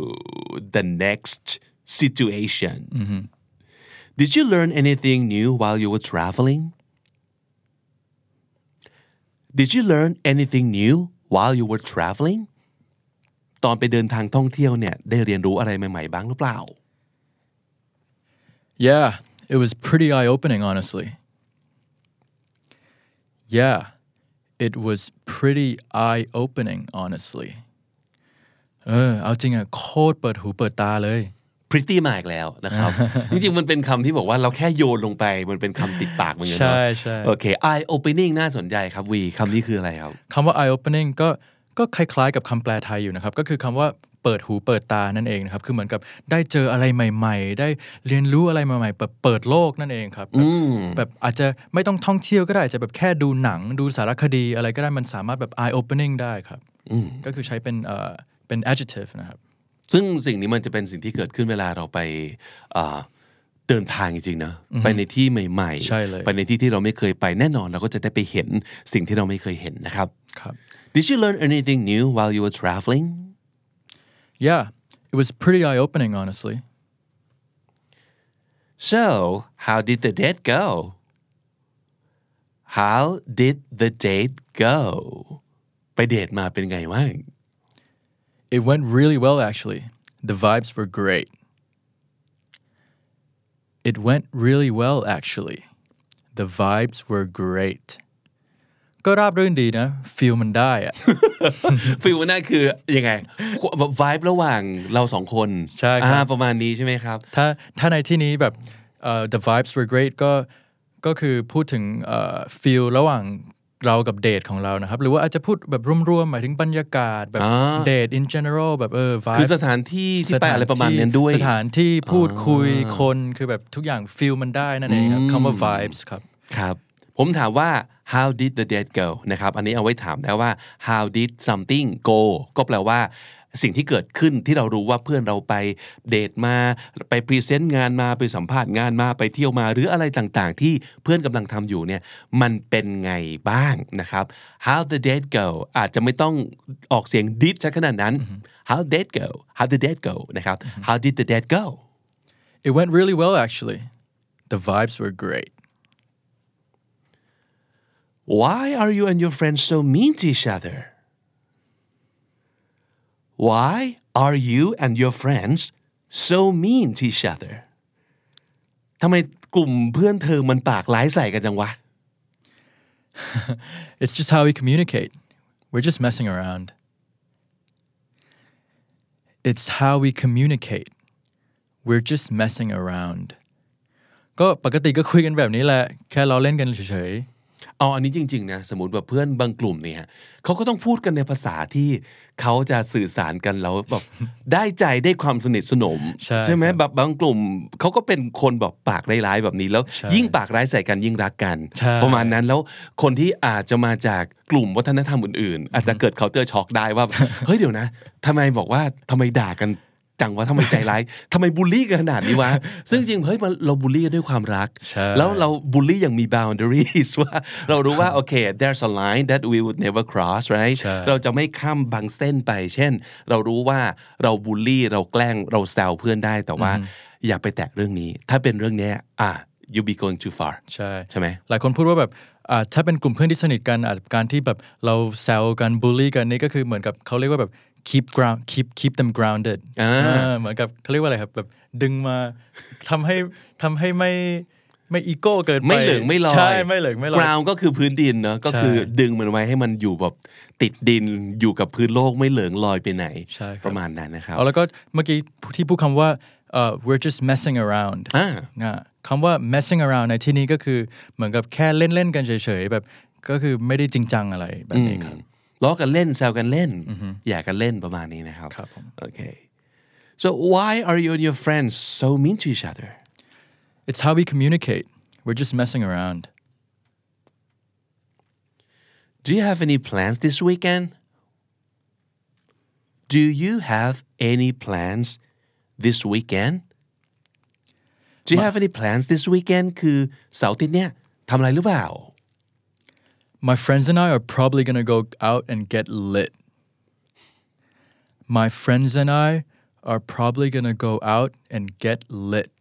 the next situation. Mm-hmm. Did you learn anything new while you were traveling? Did you learn anything new while you were traveling? ตอนไปเดินทางท่องเที่ยวเนี่ยได้เรียนรู้อะไรใหม่ๆบ้างหรือเปล่า Yeah, it was pretty eye-opening, honestly. Yeah, it was pretty eye-opening, honestly.เออเอาจริงอ่ะโคตรเปิดหูเปิดตาเลย pretty มาอีกแล้วนะครับ จริงๆมันเป็นคำที่บอกว่าเราแค่โยนลงไปมันเป็นคำติดปากมันอยู่เนาะใช่ใช่โอเค eye opening น่าสนใจครับวีคำนี้คืออะไรครับคำว่า eye opening ก็ก็คล้ายๆกับคำแปลไทยอยู่นะครับก็คือคำว่าเปิดหูเปิดตานั่นเองนะครับคือเหมือนกับได้เจออะไรใหม่ๆได้เรียนรู้อะไรใหม่ๆแบบเปิดโลกนั่นเองครับแบบอาจจะไม่ต้องท่องเที่ยวก็ได้อาจจะแบบแค่ดูหนังดูสารคดีอะไรก็ได้มันสามารถแบบ eye opening ได้ครับก็คือใช้เป็นเอ่อเป็น adjective นะครับซึ่งสิ่งนี้มันจะเป็นสิ่งที่เกิดขึ้นเวลาเราไปเดินทางจริงๆนะไปในที่ใหม่ๆไปในที่ที่เราไม่เคยไปแน่นอนเราก็จะได้ไปเห็นสิ่งที่เราไม่เคยเห็นนะครับครับ Did you learn anything new while you were traveling? Yeah, It was pretty eye-opening, honestly. So how did the date go How did the date go ไปเดทมาเป็นไงบ้าง It went really well, actually. The vibes were great. It went really well, actually. The vibes were great. ก็ราบรื่นดีนะ feel มันได้อะฟีลนั่นคือยังไง vibe ระหว่างเราสองคนใช่ครับประมาณนี้ใช่ไหมครับถ้าถ้าในที่นี้แบบ uh, the vibes were great ก็ก็คือพูดถึง uh, feel ระหว่างเรากับเดทของเรานะครับหรือว่าอาจจะพูดแบบรวมๆหมายถึงบรรยากาศแบบเดท in general แบบเออ vibes คือสถานที่ที่ไปอะไรประมาณนั้นด้วยสถานที่พูดคุยคนคือแบบทุกอย่าง feel มันได้นั่นเองครับคำว่า vibes ครับครับผมถามว่า how did the date go นะครับอันนี้เอาไว้ถามได้ว่า how did something go ก็แปลว่าสิ่งที่เกิดขึ้นที่เรารู้ว่าเพื่อนเราไปเดทมาไปพรีเซนต์งานมาไปสัมภาษณ์งานมาไปเที่ยวมาหรืออะไรต่างๆที่เพื่อนกำลังทำอยู่เนี่ยมันเป็นไงบ้างนะครับ how the date go อาจจะไม่ต้องออกเสียง did ซะขนาดนั้น how did go how the date go นะครับ how did the date go It went really well actually the vibes were great Why are you and your friends so mean to each other Why are you and your friends so mean to each other ทำไมกลุ่มเพื่อนเธอมันปากร้ายใส่กันจังวะ It's just how we communicate we're just messing around It's how we communicate we're just messing around ก็ปกติก็คุยกันแบบนี้แหละแค่เราเล่นกันเฉยๆเอาอันนี้จริงๆนะสมมติว่าเพื่อนบางกลุ่มเนี่ยเขาก็ต้องพูดกันในภาษาที่เขาจะสื่อสารกันแล้วแบบ ได้ใจได้ความสนิทสนมใช่ใช่ไหมแบบบางกลุ่มเขาก็เป็นคนแบบปากร้ายๆแบบนี้แล้วยิ่งปากร้ายใส่กันยิ่งรักกันประมาณนั้นแล้วคนที่อาจจะมาจากกลุ่มวัฒนธรรมอื่นๆอาจจะเกิดเขาเจอช็อกได้ว่า เฮ้ยเดี๋ยวนะทำไมบอกว่าทำไมด่ากันจังวะทำไมใจร้ายทำไมบูลลี่กันขนาดนี้วะซึ่งจริงเฮ้ยเราบูลลี่กันด้วยความรักแล้วเราบูลลี่อย่างมี boundaries ว่าเรารู้ว่าโอเค there's a line that we would never cross right เราจะไม่ข้ามบางเส้นไปเช่นเรารู้ว่าเราบูลลี่เราแกล้งเราแซวเพื่อนได้แต่ว่าอย่าไปแตะเรื่องนี้ถ้าเป็นเรื่องนี้อ่ะ you be going too far ใช่ใช่ไหมหลายคนพูดว่าแบบอ่าถ้าเป็นกลุ่มเพื่อนที่สนิทกันอาจการที่แบบเราแซวกันบูลลี่กันนี่ก็คือเหมือนกับเขาเรียกว่าแบบkeep ground keep keep them grounded เหมือนกับเขาเรียกว่าอะไรครับแบบดึงมาทำให้ทำให้ไม่ไม่อีโก้เกินไปไม่เหลิงไม่ลอยใช่ไม่เหลิงไม่ลอย ground ก็คือพื้นดินเนาะก็คือดึงมันไว้ให้มันอยู่แบบติดดินอยู่กับพื้นโลกไม่เหลิงลอยไปไหนประมาณนั้นนะครับแล้วก็เมื่อกี้ที่พูดคำว่า uh, we're just messing around คำว่า messing around ในที่นี้ก็คือเหมือนกับแค่เล่นๆกันเฉยๆแบบก็คือไม่ได้จริงจังอะไรแบบนี้ครับล้อกันเล่นแซวกันเล่นอย่ากันเล่นประมาณนี้นะครับโอเค so why are you and your friends so mean to each other it's how we communicate we're just messing around do you have any plans this weekend do you have any plans this weekend do you have any plans this weekend คือเสาร์อาทิตย์เนี้ยทำอะไรหรือเปล่า My friends and I are probably going to go out and get lit. My friends and I are probably going to go out and get lit.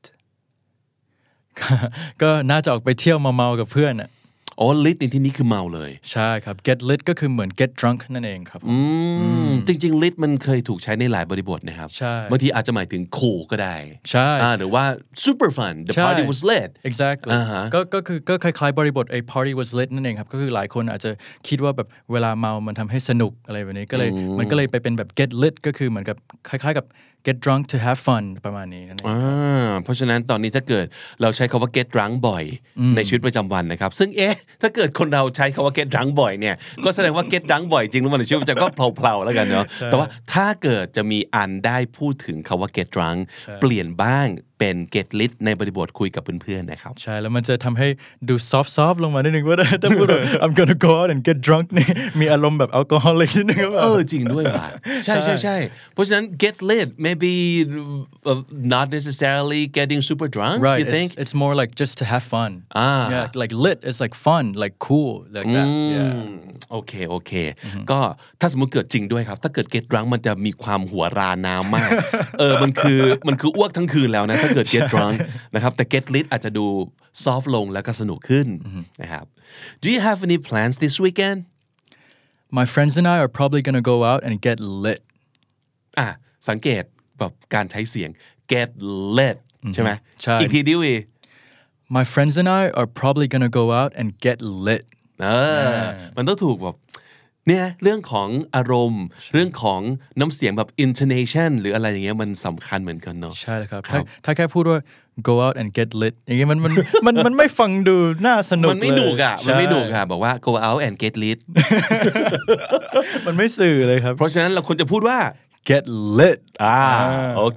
ก็น่าจะออกไปเที่ยวเมาๆกับเพื่อนน่ะอ๋อ lit ในที่นี้คือเมาเลยใช่ครับ get lit ก็คือเหมือน get drunk นั่นเองครับอืมจริงๆ lit มันเคยถูกใช้ในหลายบริบทนะครับใช่บางทีอาจจะหมายถึง cool ก็ได้ใช่หรือว่า super fun the party was lit exactly ก็ก็คือก็คล้ายๆบริบทไอ้ party was lit นั่นเองครับก็คือหลายคนอาจจะคิดว่าแบบเวลาเมามันทำให้สนุกอะไรแบบนี้ก็เลยมันก็เลยไปเป็นแบบ get lit ก็คือเหมือนกับคล้ายๆกับget drunk to have fun ประมาณนี้นั่นเองเพราะฉะนั้นตอนนี้ถ้าเเกิดเราใช้คำว่า get drunk บ่อยในชีวิตประจำวันนะครับซึ่งเอ๊ะถ้าเกิดคนเราใช้คำว่า get drunk บ่อยเนี่ยก็แสดงว่า get drunk บ่อยจริงหรือเปล่าในชีวิตประจำก็เพลาๆแล้วกันเนาะแต่ว่าถ้าเกิดจะมีอันได้พูดถึงคำว่า get drunk เปลี่ยนบ้างเป็น get lit ในบริบทคุยกับเพื่อนๆนะครับใช่แล้วมันจะทำให้ดู soft soft ลงมานิดนึงว่าถ้าพูดว่า I'm gonna go out and get drunk นี่มีอารมณ์แบบแอลกอฮอล์เลยนิดนึงเออจริงด้วยว่ะใช่ใช่ใช่เพราะฉะนั้น get lit maybe uh, not necessarily getting super drunk right you think it's, it's more like just to have fun ah yeah like lit is like fun like cool like that yeah โอเคโอเคก็ถ้าสมมุติเกิดจริงด้วยครับถ้าเกิด get drunk มันจะมีความหัวราน้ำมากเออมันคือมันคืออ้วกทั้งคืนแล้วนะถ้าเกิด get drunk นะครับแต่ get lit อาจจะดู soft ลงแล้วก็สนุกขึ้นนะครับ Do you have any plans this weekend My friends and I are probably gonna go out and get lit อ่ะสังเกตแบบการใช้เสียง get lit ใช่ไหมใช่อีกทีดิวี My friends and I are probably gonna go out and get lit เออมันต้องถูกแบบเนี่ยเรื่องของอารมณ์เรื่องของน้ำเสียงแบบ intonation หรืออะไรอย่างเงี้ยมันสำคัญเหมือนกันเนาะใช่ครับถ้าถ้าแค่พูดว่า go out and get lit อย่างเงี้ยมันมันมันมันไม่ฟังดูน่าสนุกมันไม่หนุกอ่ะมันไม่หนุกอ่ะบอกว่า go out and get lit มันไม่สื่อเลยครับเพราะฉะนั้นเราควรจะพูดว่า get lit อ่าโอเค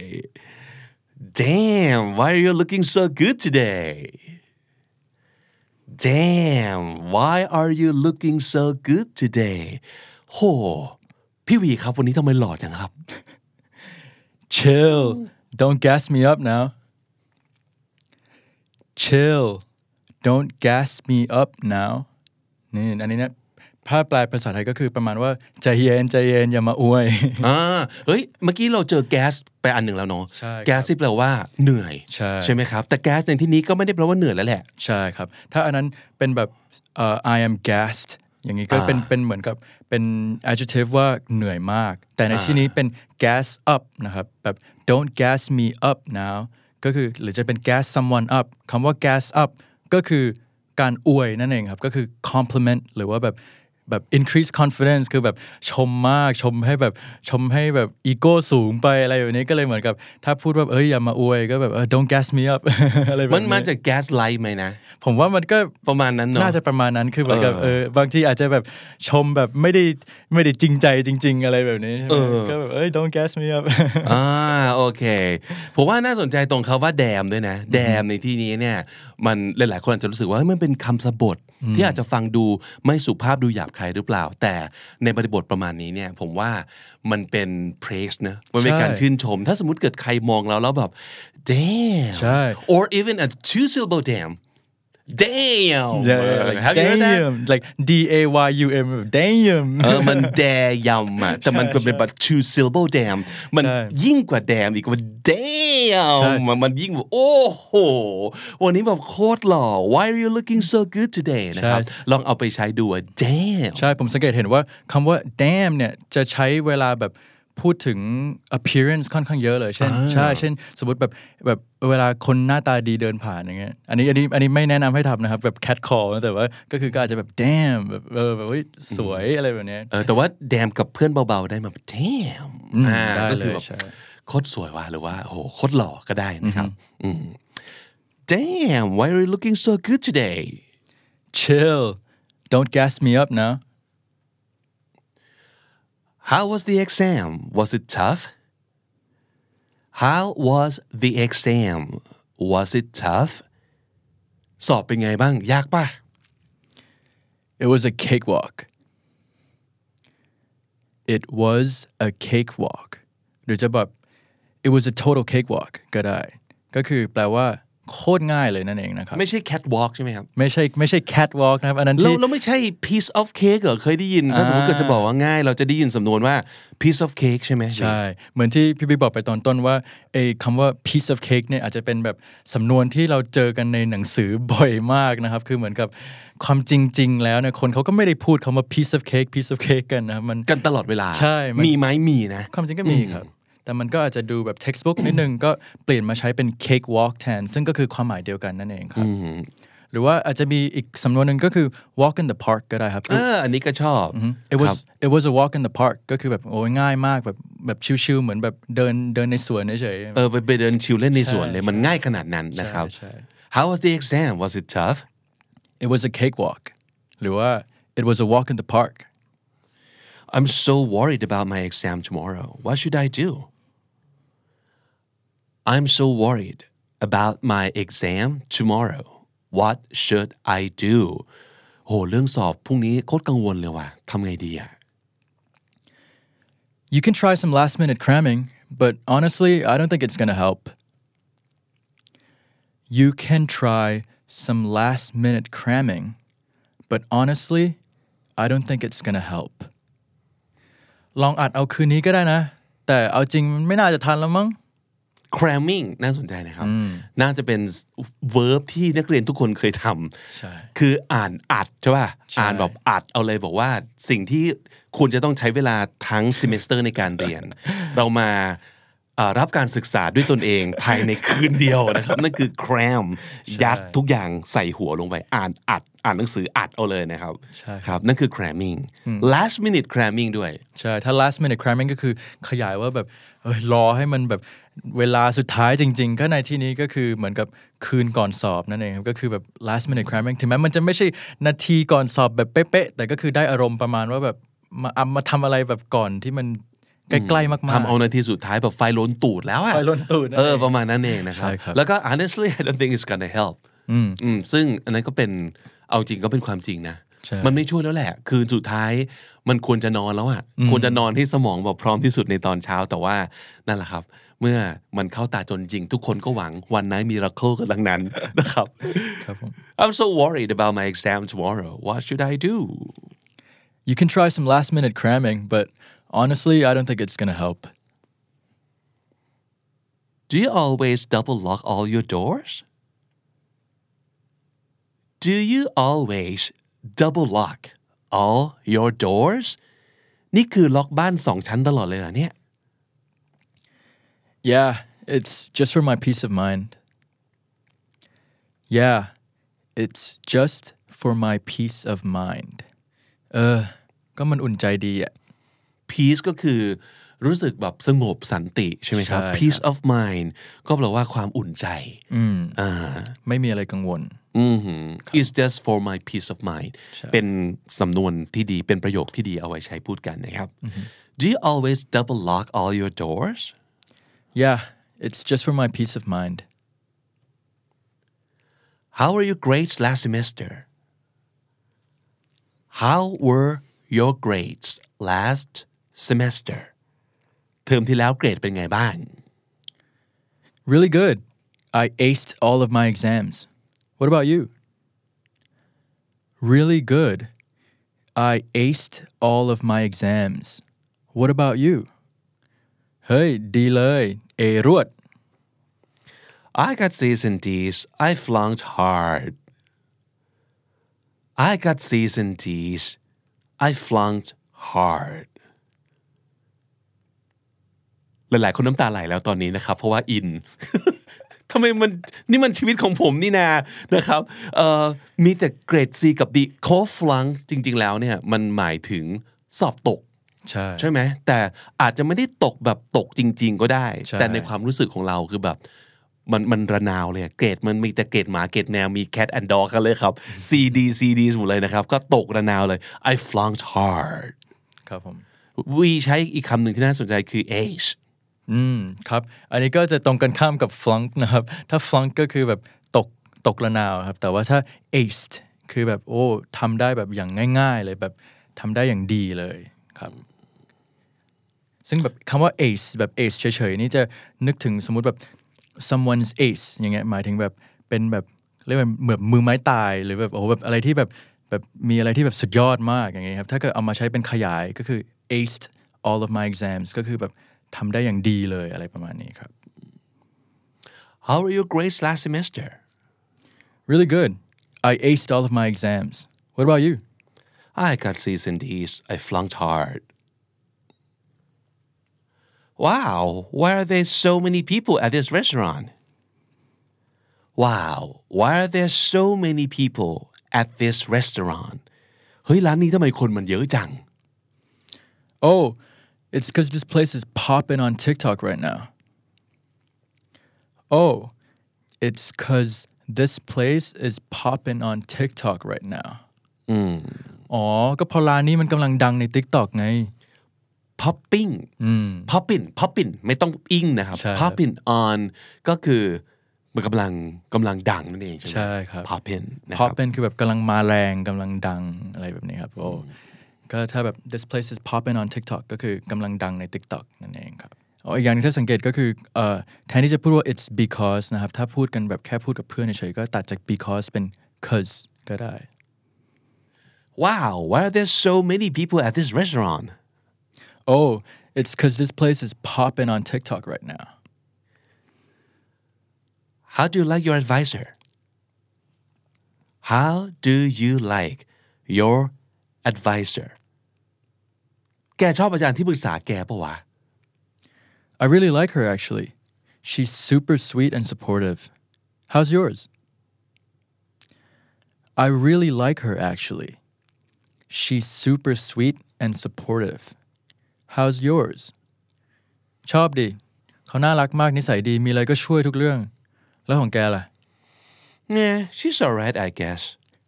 Damn why are you looking so good today Damn why are you looking so good today โหพี่วีครับวันนี้ทำไมหล่อจังครับ Chill don't gas me up now Chill don't gas me up now นี่อันนี้เนี่ยถ้าแปลภาษาไทยก็คือประมาณว่าใจเย็นใจเย็นอย่ามาอวยอ่าเฮ้ยเมื่อกี้เราเจอแก๊สไปอันหนึ่งแล้วเนาะแก๊สที่แปลว่าเหนื่อยใช่ใช่ไหมครับแต่แก๊สในที่นี้ก็ไม่ได้แปลว่าเหนื่อยแล้วแหละใช่ครับถ้าอันนั้นเป็นแบบเอ่อ I am gassed อย่างนี้ก็เป็นเป็นเหมือนกับเป็น adjective ว่าเหนื่อยมากแต่ในที่นี้เป็น gas up นะครับแบบ don't gas me up now ก็คือหรือจะเป็น gas someone up คำว่า gas up ก็คือการอวยนั่นเองครับก็คือ compliment หรือว่าแบบแบบ increase confidence คือแบบชมมากชมให้แบบชมให้แบบอีโก้สูงไปอะไรแบบนี้ก็เลยเหมือนกับถ้าพูดว่าเอ้ยอย่ามาอวยก็แบบเออ don't gas me up อะไรแบบนี้มันมาจาก gas light ไหมนะผมว่ามันก็ประมาณนั้นเนาะน่าจะประมาณนั้นคือเหมือนกับเออบางทีอาจจะแบบชมแบบไม่ได้ไม่ได้จริงใจจริงๆอะไรแบบนี้ใช่ไหมก็แบบเอ้ย don't gas me up อ่าโอเคผมว่าน่าสนใจตรงเขาว่า damn ด้วยนะ damn ในที่นี้เนี่ยมันหลายๆคนอาจจะรู้สึกว่ามันเป็นคำสะบทที่อาจจะฟังดูไม่สุภาพดูหยาบคายหรือเปล่าแต่ในบริบทประมาณนี้เนี่ยผมว่ามันเป็น praise นะมันเป็นการชื่นชมถ้าสมมุติเกิดใครมองเราแล้วแบบ damn ใช่ or even a two syllable damn damn yeah, like, have you heard that like D A Y U M damn เออมัน damn อ่ะแต่มันเป็นแบบ two syllable damn มันยิ่งกว่า damn อีกว่า damn มันยิ่งแบบโอ้โหวันนี้แบบโคตรหล่อ why are you looking so good today นะครับลองเอาไปใช้ดู damn ใช่ผมสังเกตเห็นว่าคำว่า damn เนี่ยจะใช้เวลาแบบพูดถึง appearance ค่อนข้างเยอะเลยเช่นใช่เช่นสมมติแบบแบบเวลาคนหน้าตาดีเดินผ่านอย่างเงี้ยอันนี้อันนี้อันนี้ไม่แนะนำให้ทำนะครับแบบ cat call แต่ว่าก็คือก็อาจจะแบบ damn แบบเออแบบเฮ้ยสวยอะไรแบบนี้เออแต่ว่า damn กับเพื่อนเบาๆได้มา damn อ่าก็คือแบบโคตรสวยว่ะหรือว่าโอ้โหโคตรหล่อก็ได้นะครับ damn why are you looking so good today chill don't gas me up now How was the exam? Was it tough? How was the exam? Was it tough? สอบเป็นไงบ้างยากป่ะ It was a cakewalk. It was a cakewalk. หรือจะแบบ It was a total cakewalk ก็ได้ก็คือแปลว่าโคตรง่ายเลยนั่นเองนะครับไม่ใช่ catwalk ใช่ไหมครับไม่ใช่ไม่ใช่ catwalk นะครับอันนั้นที่แล้วไม่ใช่ piece of cake เหรอเคยได้ยินถ้าสมมติเกิดจะบอกว่าง่ายเราจะได้ยินสำนวนว่า piece of cake ใช่ไหมใช่เหมือนที่พี่บิ๊กบอกไปตอนต้นว่าไอ้คำว่า piece of cake เนี่ยอาจจะเป็นแบบสำนวนที่เราเจอกันในหนังสือบ่อยมากนะครับคือเหมือนกับความจริงๆแล้วเนี่ยคนเขาก็ไม่ได้พูดคำว่า piece of cake piece of cake กันนะมันกันตลอดเวลาใช่มีไหมมีนะความจริงก็มีครับแต่มันก็อาจจะดูแบบ textbook นิดนึงก็เปลี่ยนมาใช้เป็น cake walk แทนซึ่งก็คือความหมายเดียวกันนั่นเองครับหรือว่าอาจจะมีอีกสำนวนหนึ่งก็คือ walk in the park ก็ได้ครับเอออันนี้ก็ชอบ it was it was a walk in the park ก็คือแบบโอ้ง่ายมากแบบแบบชิลๆเหมือนแบบเดินเดินในสวนเฉยๆเออไปไปเดินชิลเล่นในสวนเลยมันง่ายขนาดนั้นนะครับ How was the exam was it tough It was a cakewalk หรือว่า it was a walk in the park I'm so worried about my exam tomorrow what should I do I'm so worried about my exam tomorrow what should I do โหเรื่องสอบพรุ่งนี้โคตรกังวลเลยว่ะทำไงดีอ่ะ You can try some last minute cramming but honestly I don't think it's gonna help you can try some last minute cramming but honestly I don't think it's gonna help ลองอัดเอาคืนนี้ก็ได้นะแต่เอาจริงมันไม่น่าจะทันแล้วมั้ง cramming น่าสนใจนะครับน่าจะเป็น verb ที่นักเรียนทุกคนเคยทำคืออ่านอัดใช่ป่ะอ่านแบบอัดเอาเลยบอกว่าสิ่งที่คุณจะต้องใช้เวลาทั้ง semester ในการเรียน เรามารับการศึกษาด้วยตนเองภายในคืนเดียวนะครับนั่นคือ cram ยัดทุกอย่างใส่หัวลงไปอ่านอัดอ่านหนังสืออัดเอาเลยนะครับครับนั่นคือ cramming last minute cramming ด้วยใช่ถ้า last minute cramming ก็คือขยายว่าแบบเออรอให้มันแบบเวลาสุดท้ายจริงๆก็ในที่นี้ก็คือเหมือนกับคืนก่อนสอบนั่นเองครับก็คือแบบ last minute cramming ถึงแม้มันจะไม่ใช่นาทีก่อนสอบแบบเป๊ะๆแต่ก็คือได้อารมณ์ประมาณว่าแบบมามาทำอะไรแบบก่อนที่มันใกล้ๆมากๆทำเอานาทีสุดท้ายแบบไฟล้นตูดแล้วอะไฟล้นตูดเออประมาณนั้นเองนะครับแล้วก็ honestly I don't think it's gonna help อืมอืมซึ่งอันนั้นก็เป็นเอาจริงก็เป็นความจริงนะมันไม่ช่วยแล้วแหละคืนสุดท้ายมันควรจะนอนแล้วอะควรจะนอนที่สมองแบบพร้อมที่สุดในตอนเช้าแต่ว่านั่นแหละครับเมื่อมันเข้าตาจนจริงทุกคนก็หวังวันไหนมี miracle กันดังนั้นนะครับ I'm so worried about my exam tomorrow what should I do You can try some last minute cramming but honestly I don't think it's gonna help Do you always double lock all your doors Do you always double lock all your doors นี่คือล็อกบ้านสองชั้นตลอดเลยเหรอเนี่ย Yeah it's just for my peace of mind Yeah it's just for my peace of mind เออก็มันอุ่นใจดีอ่ะ peace ก็คือรู้สึกแบบสงบสันติใช่ไหมครับ peace of mind ก็แปลว่าความอุ่นใจอืมอ่าไม่มีอะไรกังวลอือหือ It's just for my peace of mind เป็นสำนวนที่ดีเป็นประโยคที่ดีเอาไว้ใช้พูดกันนะครับ Do you always double lock all your doors Yeah it's just for my peace of mind How were your grades last semester How were your grades last semester เทอมที่แล้วเกรดเป็นไงบ้าง Really good I aced all of my exams What about you? Really good. I aced all of my exams. What about you? เฮ้ยดีเลยเอรวด I got C's and D's. I flunked hard. I got C's and D's. I flunked hard. หลายๆคนน้ำตาไหลแล้วตอนนี้นะครับเพราะว่าอินทำไมมันนี่มันชีวิตของผมนี่นานะครับเอ่อมีแต่เกรด C กับ D โคฟลังจริงๆแล้วเนี่ยมันหมายถึงสอบตกใช่ใช่ไหมแต่อาจจะไม่ได้ตกแบบตกจริงๆก็ได้แต่ในความรู้สึกของเราคือแบบมันมันระนาวเลยเกรดมันมีแต่เกรดหมาเกรดแมวมี cat and dog กันเลยครับ C D C D หมดเลยนะครับก็ตกระนาวเลย I flunked hard ครับผม we ใช้อีกคำหนึ่งที่น่าสนใจคือ ace อืมครับอันนี้ก็จะตรงกันข้ามกับ flunk นะครับถ้า flunk ก็คือแบบตกตกระนาวครับแต่ว่าถ้า aced คือแบบโอ้ทำได้แบบอย่างง่ายๆเลยแบบทำได้อย่างดีเลยครับซึ่งแบบคำว่า ace แบบ ace เฉยๆนี่จะนึกถึงสมมุติแบบ someone's ace อย่างเงี้ยหมายถึงแบบเป็นแบบเรียกว่าเหมือนมือไม้ตายหรือแบบโอ้แบบอะไรที่แบบแบบมีอะไรที่แบบสุดยอดมากอย่างเงี้ยครับถ้าเกิดเอามาใช้เป็นขยายก็คือ aced all of my exams ก็คือแบบทำได้อย่างดีเลยอะไรประมาณนี้ครับ How were your grades last semester? Really good. I aced all of my exams. What about you? I got C's and D's. I flunked hard. Wow, why are there so many people at this restaurant? Wow, why are there so many people at this restaurant? เฮ้ยร้านนี้ทำไมคนมันเยอะจัง Oh, it's because this place is popping on TikTok right now. Oh, it's because this place is popping on TikTok right now. อืมอ๋อก็พอร้านนี้มันกำลังดังใน TikTok ไง popping อืม popping popping ไม่ต้องอิงนะครับ popping on ก็คือมันกำลังกำลังดังนั่นเองใช่ไหมใช่ครับ popping นะครับ popping คือแบบกำลังมาแรงกำลังดังอะไรแบบนี้ครับโอ้ก็ถ้าแบบ this place is popping on TikTok ก็คือกำลังดังใน TikTok นั่นเองครับอ๋ออีกอย่างนึงถ้าสังเกตก็คือเอ่อแทนที่จะพูดว่า it's because นะครับถ้าพูดกันแบบแค่พูดกับเพื่อนเฉยๆก็ตัดจาก because เป็น cause ก็ได้ Wow why are there so many people at this restaurant oh it's because this place is popping on TikTok right now How do you like your advisor How do you like your advisor แกชอบอาจารย์ที่ปรึกษาแกปะวะ I really like her actually she's super sweet and supportive how's yours I really like her actually she's super sweet and supportive how's yours ชอบดิเขาน่ารักมากนิสัยดีมีอะไรก็ช่วยทุกเรื่องแล้วของแกล่ะ Yeah she's alright I guess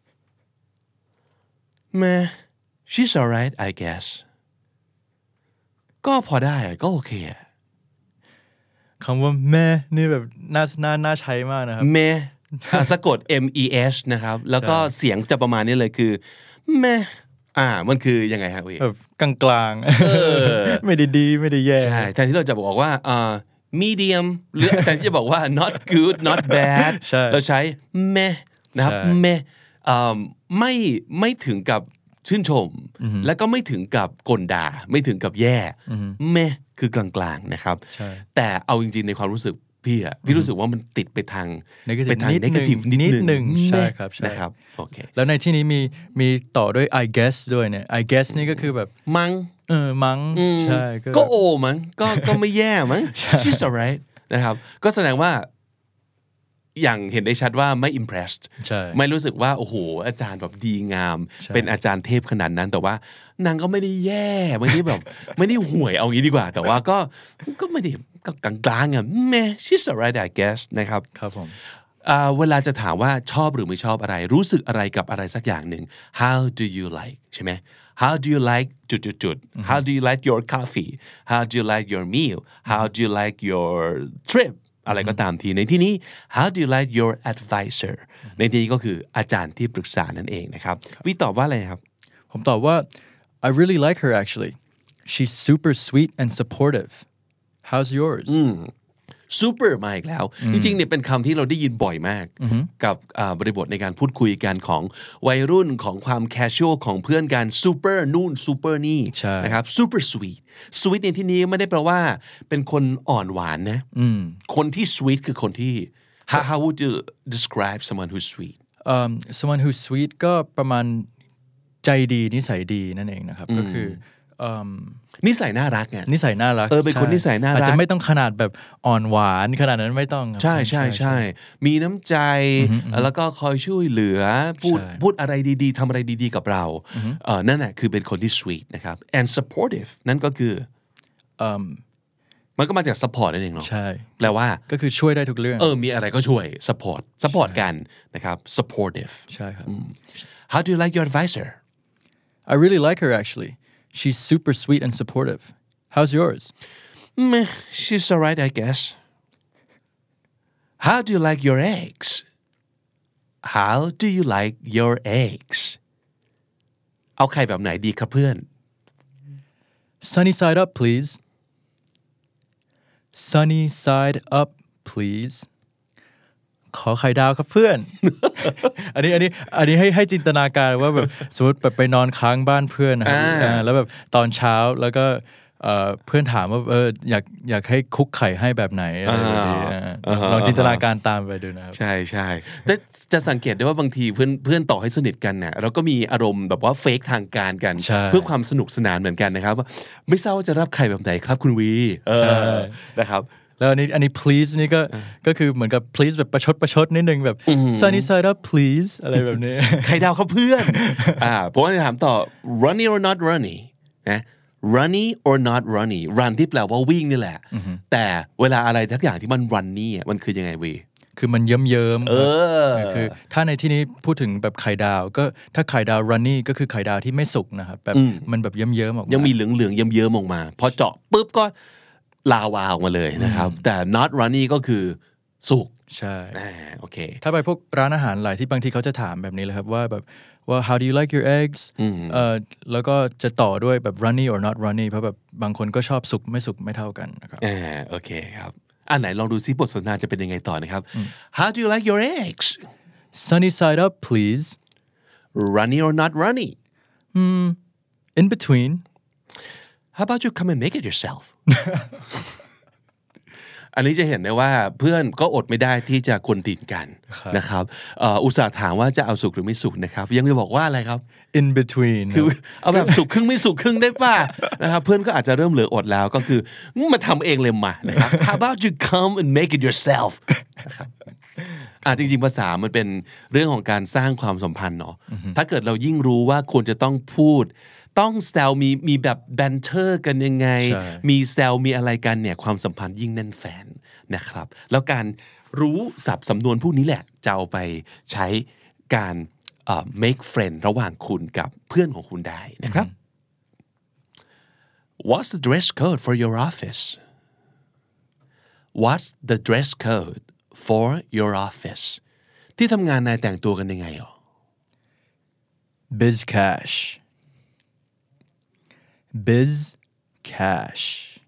Meh she's alright I guess ก็พอได้ก็โอเคคำว่าแม่นี่แบบน่าน่าน่าใช้มากนะครับเมสะกด M E S นะครับแล้วก็เสียงจะประมาณนี้เลยคือเมอ่ามันคือยังไงฮะพี่แบบกลางๆไม่ได้ดีไม่ได้แย่ใช่แทนที่เราจะบอกว่าอ่า medium หรือแทนที่จะบอกว่า not good not bad เราใช้เมนะครับเมไม่ไม่ถึงกับชื่นชมแล้วก็ไม่ถึงกับกลด่าไม่ถึงกับแย่เมคือกลางๆนะครับแต่เอาจริงๆในความรู้สึกพี่อะพี่รู้สึกว่ามันติดไปทางไปทาง negative นิดนึงใช่ครับนะครับโอเคแล้วในที่นี้มีมีต่อด้วย I guess ด้วยเนี่ย I guess นี่ก็คือแบบมั้งเออมั้งใช่ก็โอมั้งก็ก็ไม่แย่มั้ง she's alright นะครับก็แสดงว่าอย่างเห็นได้ชัดว่าไม่ impressed ไม่รู้สึกว่าโอ้โหอาจารย์แบบดีงามเป็นอาจารย์เทพขนาดนั้นแต่ว่านางก็ไม่ได้แย่ไม่ได้แบบไม่ได้ห่วยเอางี้ดีกว่าแต่ว่าก็ก็ไม่ได้กลางๆอ่ะแม่ she's alright I guess นะครับครับผมเวลาจะถามว่าชอบหรือไม่ชอบอะไรรู้สึกอะไรกับอะไรสักอย่างหนึ่ง how do you like ใช่ไหม how do you like จุดๆ how do you like your coffee how do you like your meal how do you like your tripอะไรก็ตามทีในที่นี้ how do you like your advisor ในที่นี้ก็คืออาจารย์ที่ปรึกษานั่นเองนะครับวิตอบว่าอะไรครับผมตอบว่า I really like her actually she's super sweet and supportive how's yours super มาอีกแล้วจริงๆเนี่ยเป็นคำที่เราได้ยินบ่อยมากกับบริบทในการพูดคุยกันของวัยรุ่นของความ casual ของเพื่อนกัน super นู่น super นี่นะครับ super sweet sweet ในที่นี้ไม่ได้แปลว่าเป็นคนอ่อนหวานนะคนที่ sweet คือคนที่ how how would you describe someone who's sweet um, someone who's sweet ก็ประมาณใจดีนิสัยดีนั่นเองนะครับก็คือนิสัยน่ารักไงนิสัยน่ารักเออเป็นคนนิสัยน่ารักอาจจะไม่ต้องขนาดแบบอ่อนหวานขนาดนั้นไม่ต้องใช่ใช่ใช่มีน้ำใจแล้วก็คอยช่วยเหลือพูดพูดอะไรดีๆทำอะไรดีๆกับเราเออนั่นแหละคือเป็นคนที่ sweet นะครับ and supportive นั่นก็คือมันก็มาจาก support นั่นเองเนาะใช่แปลว่าก็คือช่วยได้ทุกเรื่องเออมีอะไรก็ช่วย support support กันนะครับ supportive ใช่ครับ How do you like your advisor I really like her actually she's super sweet and supportive how's yours Meh, she's alright I guess How do you like your eggs How do you like your eggs เอาไข่แบบไหนดีครับเพื่อน Sunny side up please Sunny side up please ขอไข่ดาวครับเพื่อน อันนี้อันนี้อันนี้ให้ให้จินตนาการว่าแบบสมมติแบบไปนอนค้างบ้านเพื่อนนะครับแล้วแบบตอนเช้าแล้วก็เพื่อนถามว่าเอออยากอยากให้คุกไข่ให้แบบไหนอะไรแบบนี้ลองจินตนาการตามไปดูนะครับใช่ใช่แต่จะสังเกตได้ว่าบางทีเพื่อนเพื่อนต่อให้สนิทกันเนี่ยเราก็มีอารมณ์แบบว่าเฟกทางการกันเพื่อความสนุกสนานเหมือนกันนะครับไม่ทราบว่าจะรับไข่แบบไหนครับคุณวีนะครับแล้วอันนี้อันนี้ please นี่ก็ก็คือเหมือนกับ please แบบประชดประชดนิดนึงแบบ sunny side up please อะไรแบบนี้ไข่ดาวครับเพื่อนอ่าผมจะถามต่อ runny or not runny นะ runny or not runny run ที่แปลว่าวิ่งนี่แหละแต่เวลาอะไรทักอย่างที่มัน runny มันคือยังไงวีคือมันเยิ้มเยิ้มเออคือถ้าในที่นี้พูดถึงแบบไข่ดาวก็ถ้าไข่ดาว runny ก็คือไข่ดาวที่ไม่สุกนะครับแบบมันแบบเยิ้มเยิ้มออกมายังมีเหลืองเหลืองเยิ้มเยิ้มออกมาพอเจาะปุ๊บก็ลาวาออกมาเลยนะครับแต่ not runny ก็คือสุกใช่โอเคถ้าไปพวกร้านอาหารหลายที่บางทีเขาจะถามแบบนี้เลยครับว่าแบบว่า how do you like your eggs เอ่อแล้วก็จะต่อด้วยแบบ runny or not runny เพราะแบบบางคนก็ชอบสุกไม่สุกไม่เท่ากันนะครับอ่าโอเคครับอันไหนลองดูซิบทสนทนาจะเป็นยังไงต่อนะครับ how do you like your eggs sunny side up please runny or not runny hmm in between how about you come and make it yourself อันนี้จะเห็นได้ว่าเพื่อนก็อดไม่ได้ที่จะคนตีนกันนะครับอุตส่าห์ถามว่าจะเอาสุกหรือไม่สุกนะครับยังจะบอกว่าอะไรครับ in between คือเอาแบบสุกครึ่งไม่สุกครึ่งได้ป่ะนะครับเพื่อนก็อาจจะเริ่มเหลืออดแล้วก็คือมาทำเองเลยมานะครับ how about you come and make it yourself นะครับอ่ะจริงๆภาษามันเป็นเรื่องของการสร้างความสัมพันธ์เนาะถ้าเกิดเรายิ่งรู้ว่าควรจะต้องพูดต้องแซวมีมีแบบแบนเทอร์กันยังไงมีแซวมีอะไรกันเนี่ยความสัมพันธ์ยิ่งแน่นแฟนนะครับแล้วการรู้ศัพท์สำนวนพวกนี้แหละจะเอาไปใช้การ uh, make friend ระหว่างคุณกับเพื่อนของคุณได้นะครับ What's the dress code for your office What's the dress code for your office ที่ทำงานนายแต่งตัวกันยังไงอ่ะ biz cash biz cash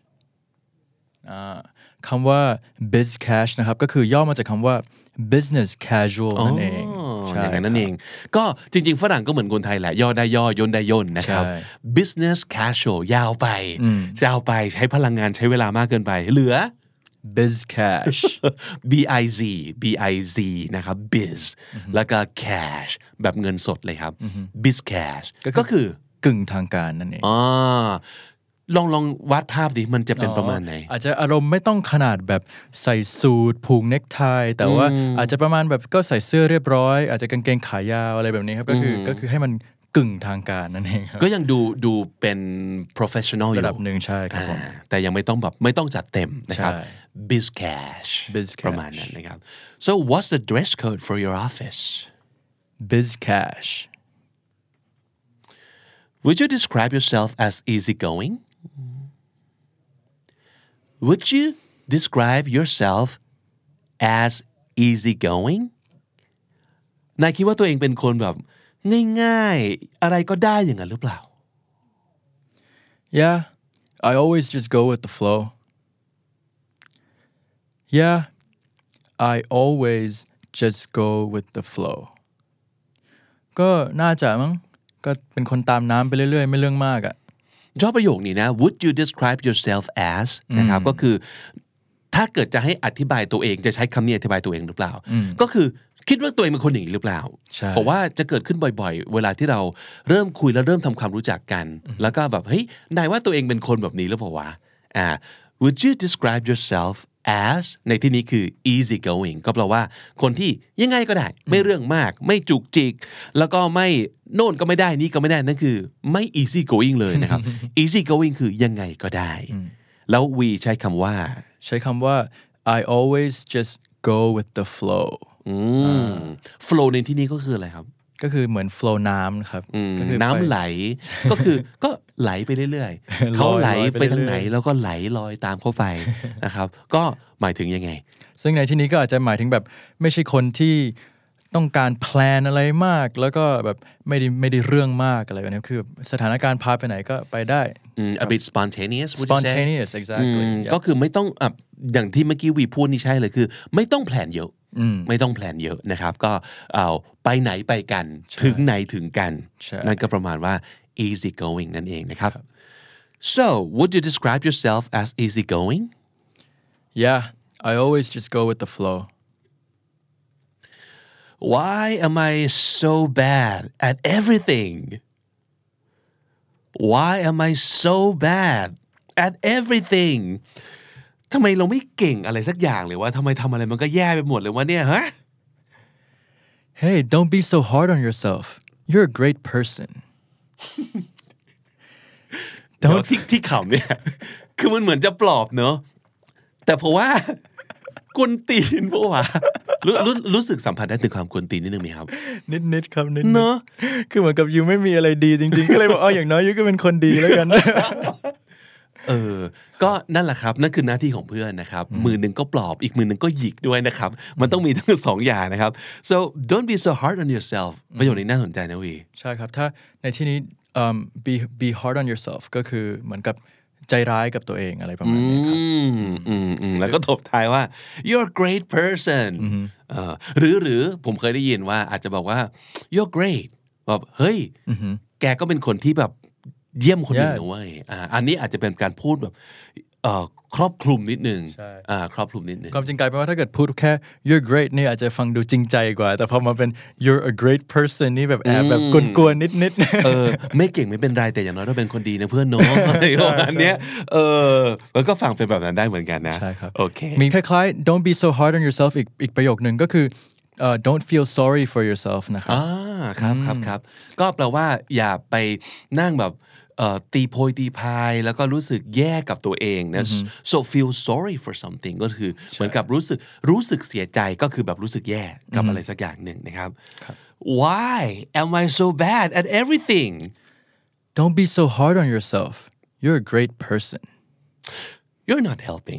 คำว่า biz cash นะครับก็คือย่อมาจากคำว่า business casual นั่นเองอย่างนั้นนั่นเองก็จริงๆฝรั่งก็เหมือนคนไทยแหละย่อได้ย่อย่นได้ย่นนะครับ business casual ยาวไปยาวไปใช้พลังงานใช้เวลามากเกินไปเหลือ biz cash b i z b i z นะครับ biz แล้วก็ cash แบบเงินสดเลยครับ biz cash ก็คือกึ่งทางการนั่นเองอ๋อลองลองวาดภาพดิมันจะเป็นประมาณไหนอาจจะอารมณ์ไม่ต้องขนาดแบบใส่สูทผูกเน็กไทแต่ว่าอาจจะประมาณแบบก็ใส่เสื้อเรียบร้อยอาจจะกางเกงขายาวอะไรแบบนี้ครับก็คือก็คือให้มันกึ่งทางการนั่นเองครับก็ยังดูดูเป็น professional อยู่ระดับหนึ่งใช่ครับผมแต่ยังไม่ต้องแบบไม่ต้องจัดเต็มนะครับ biz cash ประมาณนั้นนะครับ so what's the dress code for your office biz cash would you describe yourself as easygoing would you describe yourself as easygoing นายคิดว่าตัวเองเป็นคนแบบง่ายๆอะไรก็ได้อย่างนั้นหรือเปล่า Yeah I always just go with the flow Yeah I always just go with the flow ก็น่าจะมั้งก็เป็นคนตามน้ำไปเรื่อยๆไม่เรื่องมากอ่ะชอบประโยคนี้นะ Would you describe yourself as นะครับก็คือถ้าเกิดจะให้อธิบายตัวเองจะใช้คำนี้อธิบายตัวเองหรือเปล่าก็คือคิดว่าตัวเองเป็นคนอย่างนี้หรือเปล่าเพราะว่าจะเกิดขึ้นบ่อยๆเวลาที่เราเริ่มคุยแล้วเริ่มทำความรู้จักกันแล้วก็แบบเฮ้ยนายว่าตัวเองเป็นคนแบบนี้หรือเปล่าวะอ่า Would you describe yourself as ในที่นี้คือ easy going ก็แปลว่าคนที่ยังไงก็ได้ไม่เรื่องมากไม่จุกจิกแล้วก็ไม่โน่นก็ไม่ได้นี่ก็ไม่ได้นั่นคือไม่ easy going เลยนะครับ easy going คือยังไงก็ได้แล้ว we ใช้คำว่าใช้คำว่า I always just go with the flow อืม flow ในที่นี้ก็คืออะไรครับก็คือเหมือน flow น้ำครับน้ำไหลก็คือก็ไหลไปเรื่อยๆเขาไหลไปทางไหนแล้วก็ไหลลอยตามเข้าไปนะครับก็หมายถึงยังไงซึ่งในที่นี้ก็อาจจะหมายถึงแบบไม่ใช่คนที่ต้องการแพลนอะไรมากแล้วก็แบบไม่ได้ไม่ได้เรื่องมากอะไรแบบนี้คือสถานการณ์พาไปไหนก็ไปได้ a bit spontaneous spontaneous exactly ก็คือไม่ต้องอย่างที่เมื่อกี้วีพูดนี่ใช่เลยคือไม่ต้องแพลนเยอะไม่ต้องแพลนเยอะนะครับก็เอาไปไหนไปกันถึงไหนถึงกันนั่นก็ประมาณว่า easy going นั่นเองนะครับ so would you describe yourself as easy going yeah I always just go with the flow why am I so bad at everything why am I so bad at everythingทำไมเราไม่เก่งอะไรสักอย่างเลยว่าทำไมทำอะไรมันก็แย่ไปหมดเลยวะเนี่ยฮะ Hey don't be so hard on yourself you're a great person แต่ว่าที่ที่ขำเนี่ยคือมันเหมือนจะปลอบเนอะแต่เพราะว่ากวนตีนเพราะว่ารู้รู้รู้สึกสัมผัสได้ถึงความกวนตีนนิดนึงไหมครับนิดๆครับนิดๆเนอะคือเหมือนกับยูไม่มีอะไรดีจริงๆก็เลยบอกอ๋ออย่างน้อยยูก็เป็นคนดีแล้วกันเออก็นั่นแหละครับนั่นคือหน้าที่ของเพื่อนนะครับมือหนึ่งก็ปลอบอีกมือหนึ่งก็หยิกด้วยนะครับมันต้องมีทั้งสองอย่างนะครับ so don't be so hard on yourself ประโยคนี้น่าสนใจนะวีใช่ครับถ้าในที่นี้ um, be be hard on yourself ก็คือเหมือนกับใจร้ายกับตัวเองอะไรประมาณนี้ครับอืมอืมแล้วก็ตบท้ายว่า you're a great person เอ่อหรือหรือผมเคยได้ยินว่าอาจจะบอกว่า you're great แบบเฮ้ยแกก็เป็นคนที่แบบเยี่ยมคนหนึ่งนะเว้ยอ่าอันนี้อาจจะเป็นการพูดแบบเอ่อครอบคลุมนิดนึงอ่าครอบคลุมนิดนึงความจริงกลายเป็นว่าถ้าเกิดพูดแค่ you're great นี่อาจจะฟังดูจริงใจกว่าแต่พอมาเป็น you're a great person นี่แบบแอบแบบกวนๆนิดๆเออไม่เก่งไม่เป็นไรแต่อย่างน้อยเราเป็นคนดีนะเพื่อนเนาะอะไรประมาณเนี้ยเออมันก็ฟังเป็นแบบนั้นได้เหมือนกันนะใช่ครับโอเคมีคล้ายๆ don't be so hard on yourself อีกอีกประโยคนึงก็คือUh, don't feel sorry for yourself นะครับอ่าครับครับครับก็แปลว่าอย่าไปนั่งแบบตีโพยตีพายแล้วก็รู้สึกแย่กับตัวเองนะ so feel sorry for something ก็คือเหมือนกับรู้สึกรู้สึกเสียใจก็คือแบบรู้สึกแย่กับอะไรสักอย่างหนึ่งนะครับ why am I so bad at everything don't be so hard on yourself you're a great person you're not helping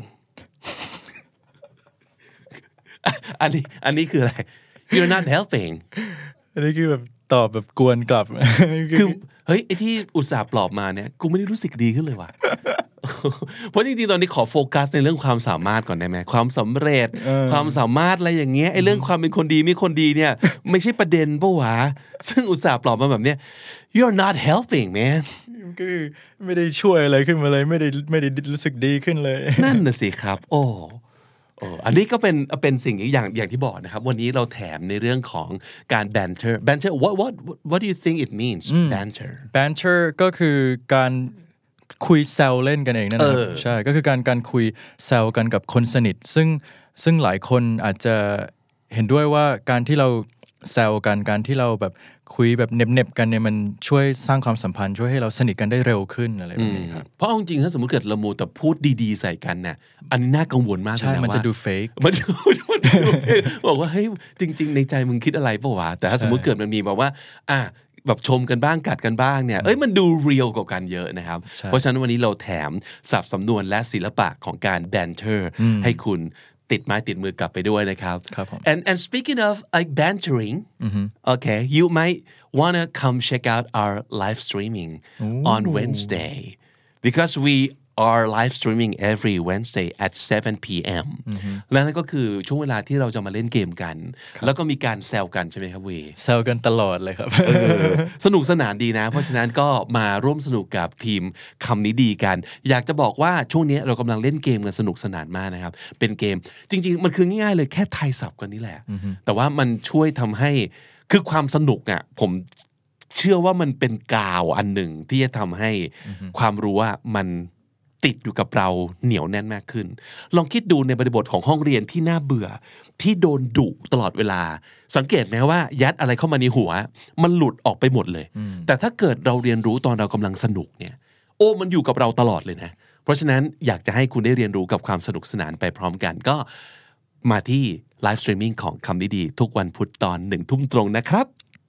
อันนี้อันนี้คืออะไร you're not helping อันนี้คือแบบตอบแบบกวนกลับคือเฮ้ยไอ้ที่อุตส่าห์ปลอบมาเนี่ยกูไม่ได้รู้สึกดีขึ้นเลยว่ะ เพราะจริงๆตอนนี้ขอโฟกัสในเรื่องความสามารถก่อนได้ไหมความสำเร็จความสามารถอะไรอย่างเงี้ยไอ้เรื่องความเป็นคนดีไม่คนดีเนี่ยไม่ใช่ประเด็นปะวะซึ่งอุตส่าห์ปลอบมาแบบเนี้ย you're not helping man คือไม่ได้ช่วยอะไรขึ้นมาเลยไม่ได้ไม่ได้รู้สึกดีขึ้นเลยนั่นน่ะสิครับโอ้โอ้อันนี้ก็เป็นเป็นสิ่งอย่างอย่างที่บอกนะครับวันนี้เราแถมในเรื่องของการ banter banter what what what do you think it means banter banter ก็คือการคุยแซวเล่นกันเองนั่นแหละใช่ก็คือการการคุยแซวกันกับคนสนิทซึ่งซึ่งหลายคนอาจจะเห็นด้วยว่าการที่เราแซวกันการที่เราแบบคุยแบบเน็บๆกันเนี่ยมันช่วยสร้างความสัมพันธ์ช่วยให้เราสนิทกันได้เร็วขึ้นอะไรแบบนี้ครับเพราะจริงๆถ้าสมมติเกิดเราโมแต่พูดดีๆใส่กันเนี่ยอันนี้น่ากังวลมากเลยนะว่าใช่มันจะดูเฟกมันจะมันจะดูเฟกบอกว่าเฮ้ยจริงๆในใจมึงคิดอะไรป่าววะแต่ถ้าสมมติเกิดมันมีแบบว่าอ่ะแบบชมกันบ้างกัดกันบ้างเนี่ยเอ้ยมันดูเรียลกว่ากันเยอะนะครับเพราะฉะนั้นวันนี้เราแถมศัพท์สำนวนและศิลปะของการ banter ให้คุณติดไม้ติดมือกลับไปด้วยนะครับ and and speaking of like bantering okay you might wanna come check out our live streaming on Wednesday because we are live streaming every Wednesday at seven p.m. และนั่นก็คือช่วงเวลาที่เราจะมาเล่นเกมกันแล้วก็มีการแซวกันใช่ไหมครับวีแซวกันตลอดเลยครับสนุกสนานดีนะเพราะฉะนั้นก็มาร่วมสนุกกับทีมคำนี้ดีกันอยากจะบอกว่าช่วงนี้เรากำลังเล่นเกมกันสนุกสนานมากนะครับเป็นเกมจริงๆมันคือง่ายๆเลยแค่ทายศัพท์กันนี่แหละแต่ว่ามันช่วยทำให้คือความสนุกอ่ะผมเชื่อว่ามันเป็นกาวอันหนึ่งที่จะทำให้ความรู้ว่ามันติดอยู่กับเราเหนียวแน่นมากขึ้นลองคิดดูในบริบทของห้องเรียนที่น่าเบื่อที่โดนดุตลอดเวลาสังเกตไหมว่ายัดอะไรเข้ามาในหัวมันหลุดออกไปหมดเลยแต่ถ้าเกิดเราเรียนรู้ตอนเรากำลังสนุกเนี่ยโอ้มันอยู่กับเราตลอดเลยนะเพราะฉะนั้นอยากจะให้คุณได้เรียนรู้กับความสนุกสนานไปพร้อมกันก็มาที่ไลฟ์สตรีมมิ่งของคำนี้ดีทุกวันพุธตอนหนึ่งทุ่มตรงนะครับ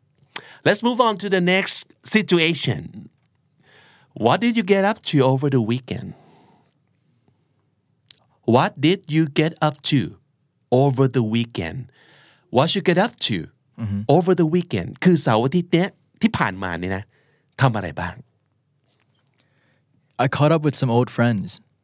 Let's move on to the next situation What did you get up to over the weekend? What did you get up to over the weekend? What you get up to mm-hmm. over the weekend? คือเสาร์อาทิตย์เนี้ยที่ผ่านมาเนี่ยนะทำอะไรบ้าง I caught up with some old friends.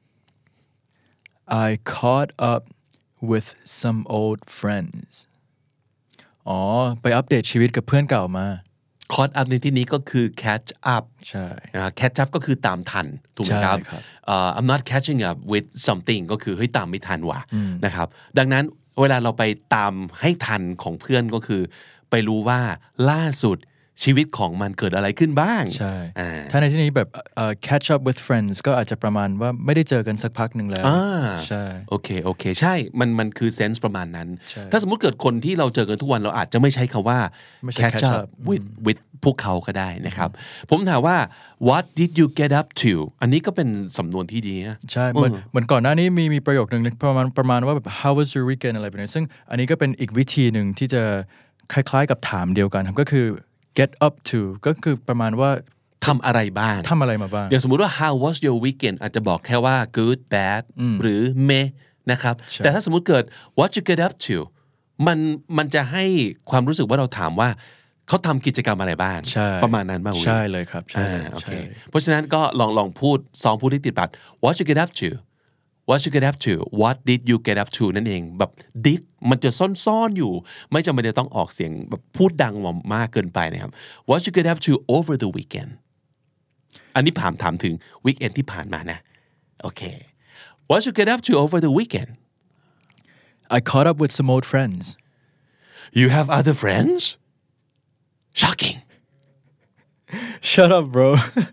I caught up with some old friends. อ๋อไปอัปเดตชีวิตกับเพื่อนเก่ามา caught up ในที่นี้ก็คือ catch up ใช่ catch up ก็คือตามทันถูกไหมครับ uh, I'm not catching up with something ก็คือเฮ้ยตามไม่ทันว่ะนะครับดังนั้นเวลาเราไปตามให้ทันของเพื่อนก็คือไปรู้ว่าล่าสุดชีวิตของมันเกิดอะไรขึ้นบ้างใช่ถ้าในที่นี้แบบ uh, catch up with friends ก็อาจจะประมาณว่าไม่ได้เจอกันสักพักหนึ่งแล้วใช่โอเคโอเคใช่มันมันคือ sense ประมาณนั้นถ้าสมมุติเกิดคนที่เราเจอกันทุกวันเราอาจจะไม่ใช้คำว่า catch up with with พวกเขาก็ได้นะครับผมถามว่า what did you get up to อันนี้ก็เป็นสำนวนที่ดีนะใช่เหมือนเหมือนก่อนหน้านี้มีมีประโยคนึงประมาณประมาณว่าแบบ how was your weekend อะไรแบบนี้ซึ่งอันนี้ก็เป็นอีกวิธีหนึ่งที่จะคล้ายๆกับถามเดียวกันครับก็คือget up to ก็คือประมาณว่าทำอะไรบ้างทำอะไรมาบ้างอย่างสมมุติว่า how was your weekend อาจจะบอกแค่ว่า good bad หรือ meh นะครับแต่ถ้าสมมุติเกิด what you get up to มันมันจะให้ความรู้สึกว่าเราถามว่าเขาทำกิจกรรมอะไรบ้างประมาณนั้นมากใช่เลยครับใช่โอเคเพราะฉะนั้นก็ลองลองพูดซ้อมพูดที่ติดปาก what you get up to what you get up to what did you get up to นั่นเองแบบ did มันจะซ่อนๆอยู่ไม่จำเป็นจะต้องออกเสียงแบบพูดดังมากเกินไปนะครับ what you get up to over the weekend อันนี้ถามถามถึง weekend ที่ผ่านมานะโอเค what you get up to over the weekend I caught up with some old friends you have other friends shocking shut up bro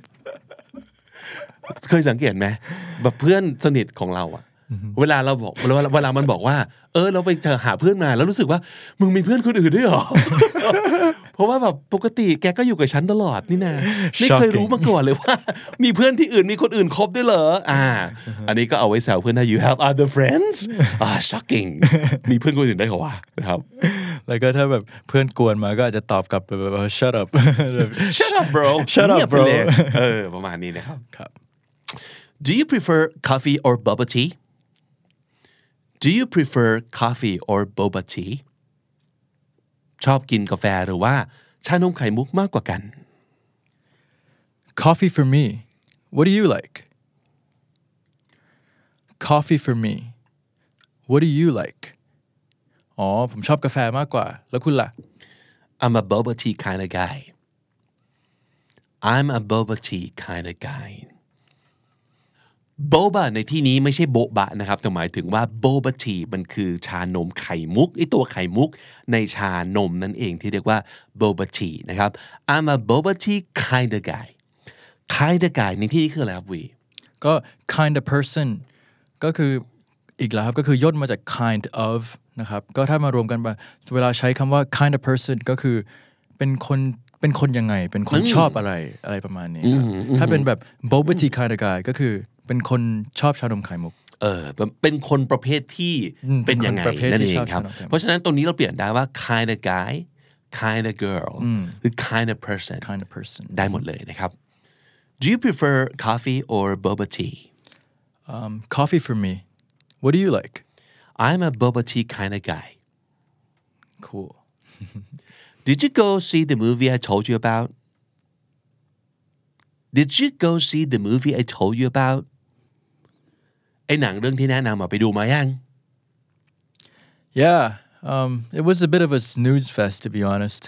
เคยสังเกตไหมแบบเพื่อนสนิทของเราอะเวลาเราบอกเวลาเวลามันบอกว่าเออเราไปเจอหาเพื่อนมาแล้วรู้สึกว่ามึงมีเพื่อนคนอื่นด้วยเหรอ เพราะว่าแบบปกติแกก็อยู่กับฉันตลอดนี่นะไม่เคยรู้มาก่อนเลยว่ามีเพื่อนที่อื่นมีคนอื่นคบด้วยเหรออ่าอันนี้ก็เอาไว้แซวเพื่อนนะ you have other friends อ่า shocking มีเพื่อนคนอื่นได้เหรอวะนะครับแล้วก็ถ้าแบบเพื่อนกวนมาก็อาจจะตอบกลับแบบ shut up shut up bro shut up bro เออประมาณนี้นะครับครับ do you prefer coffee or bubble tea do you prefer coffee or boba tea ชอบกินกาแฟหรือว่าชานมไข่มุกมากกว่ากัน coffee for me what do you like coffee for me what do you like อ๋อผมชอบกาแฟมากกว่าแล้วคุณล่ะ I'm a boba tea kind of guy I'm a boba tea kind of guy โบบะในที่นี้ไม่ใช่โบบะนะครับแต่หมายถึงว่าโบบะทีมันคือชานมไข่มุกไอตัวไข่มุกในชานมนั่นเองที่เรียกว่าโบบะทีนะครับ I'm a boba tea kind of guy kind of guy ในที่นี้คืออะไรครับวีก็ kind of person ก็คืออีกแล้วครับก็คือย่นมาจาก kind of นะครับก็ถ้ามารวมกันเวลาใช้คำว่า kind of person ก็คือเป็นคนเป็นคนยังไงเป็นคนชอบอะไรอะไรประมาณนี้ครับถ้าเป็นแบบ boba tea kind of guy ก็คือเป็นคนชอบชานมไข่มุกเออเป็นคนประเภทที่เป็นยังไงนั่นเองครับเพราะฉะนั้นตรงนี้เราเปลี่ยนได้ว่า kind of guy kind of girl หรือ kind of person kind of person ได้หมดเลยนะครับ Do you prefer coffee or boba tea um, coffee for me what do you like I'm a boba tea kind of guy cool Did you go see the movie I told you about Did you go see the movie I told you aboutไอ้หนังเรื่องที่แนะนำมาไปดูมายัง Yeah um, it was a bit of a snooze fest to be honest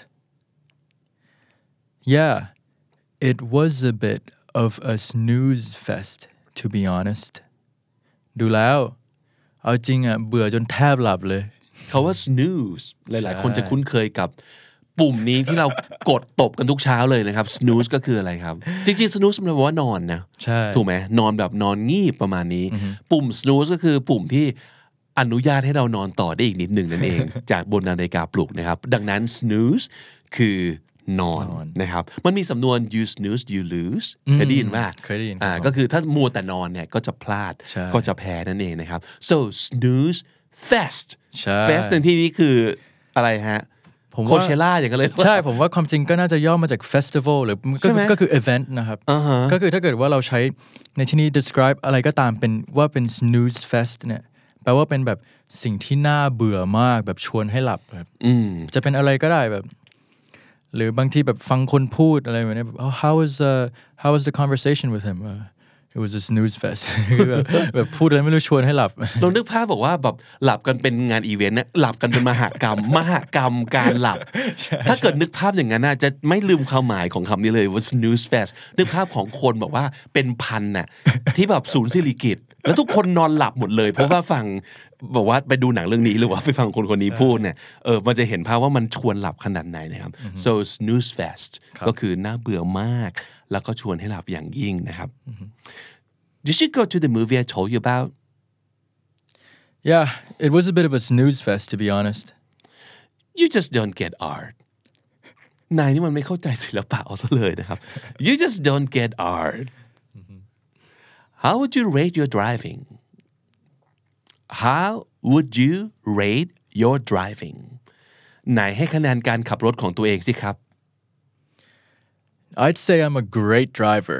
Yeah it was a bit of a snooze fest to be honest ดูแล้วเอาจริงอ่ะเบื่อจนแทบหลับเลยเขาว่า snooze หลายๆคนจะคุ้นเคยกับปุ่มนี้ที่เรากดตบกันทุกเช้าเลยนะครับ snooze ก็คืออะไรครับจริงๆ snooze มันแปลว่านอนนะใช่ถูกไหมนอนแบบนอนงีบประมาณนี้ปุ่ม snooze ก็คือปุ่มที่อนุญาตให้เรานอนต่อได้อีกนิดหนึ่งนั่นเอง จากบนนาฬิกาปลุกนะครับดังนั้น snooze คือนอนนะครับมันมีสำนวน you snooze you lose เคยได้ยินว่าเคยได้ยินอ่าก็คือถ้ามัวแต่นอนเนี่ยก็จะพลาดก็จะแพ้นั่นเองนะครับ so snooze fest fest ในที่นี้คืออะไรฮะโคเชล่าอย่างกันเลยใช่ผมว่าความจริงก็น่าจะย่อมาจาก festival หรือก็ก็คือ event นะครับ uh-huh. ก็คือถ้าเกิดว่าเราใช้ในที่นี้ describe อะไรก็ตามเป็นว่าเป็น snooze fest เนี่ยแปลว่าเป็นแบบสิ่งที่น่าเบื่อมากแบบชวนให้หลับแบบจะเป็นอะไรก็ได้แบบหรือบางทีแบบฟังคนพูดอะไรแบบนี้แบบ oh, how was uh, how was the conversation with him uh, it was a snooze fest แบบแบบพูดอะไรไม่รู้ชวนให้หลับเรานึกภาพบอกว่าแบบหลับกันเป็นงานอีเวนต์นะหลับกันเป็นมหกรรมมหกรรมการหลับถ้าเกิดนึกภาพอย่างนั้นน่ะจะไม่ลืมความหมายของคำนี้เลยว่า snooze fest นึกภาพของคนบอกว่าเป็นพันน่ะที่แบบศูนย์สิริกิติ์แล้วทุกคนนอนหลับหมดเลยเพราะว่าฟังบอกว่าไปดูหนังเรื่องนี้หรือว่าไปฟังคนคนนี้พูดเนี่ยเออมันจะเห็นภาพว่ามันชวนหลับขนาดไหนนะครับ so snooze fest ก็คือน่าเบื่อมากแล้วก็ชวนให้หลับอย่างยิ่งนะครับDid you go to the movie I told you about? Yeah, it was a bit of a snooze fest, to be honest. You just don't get art. นายนี่มันไม่เข้าใจศิลปะเอาซะเลยนะครับ You just don't get art. How would you rate your driving? How would you rate your driving? ไหนให้คะแนนการขับรถของตัวเองสิครับ I'd say I'm a great driver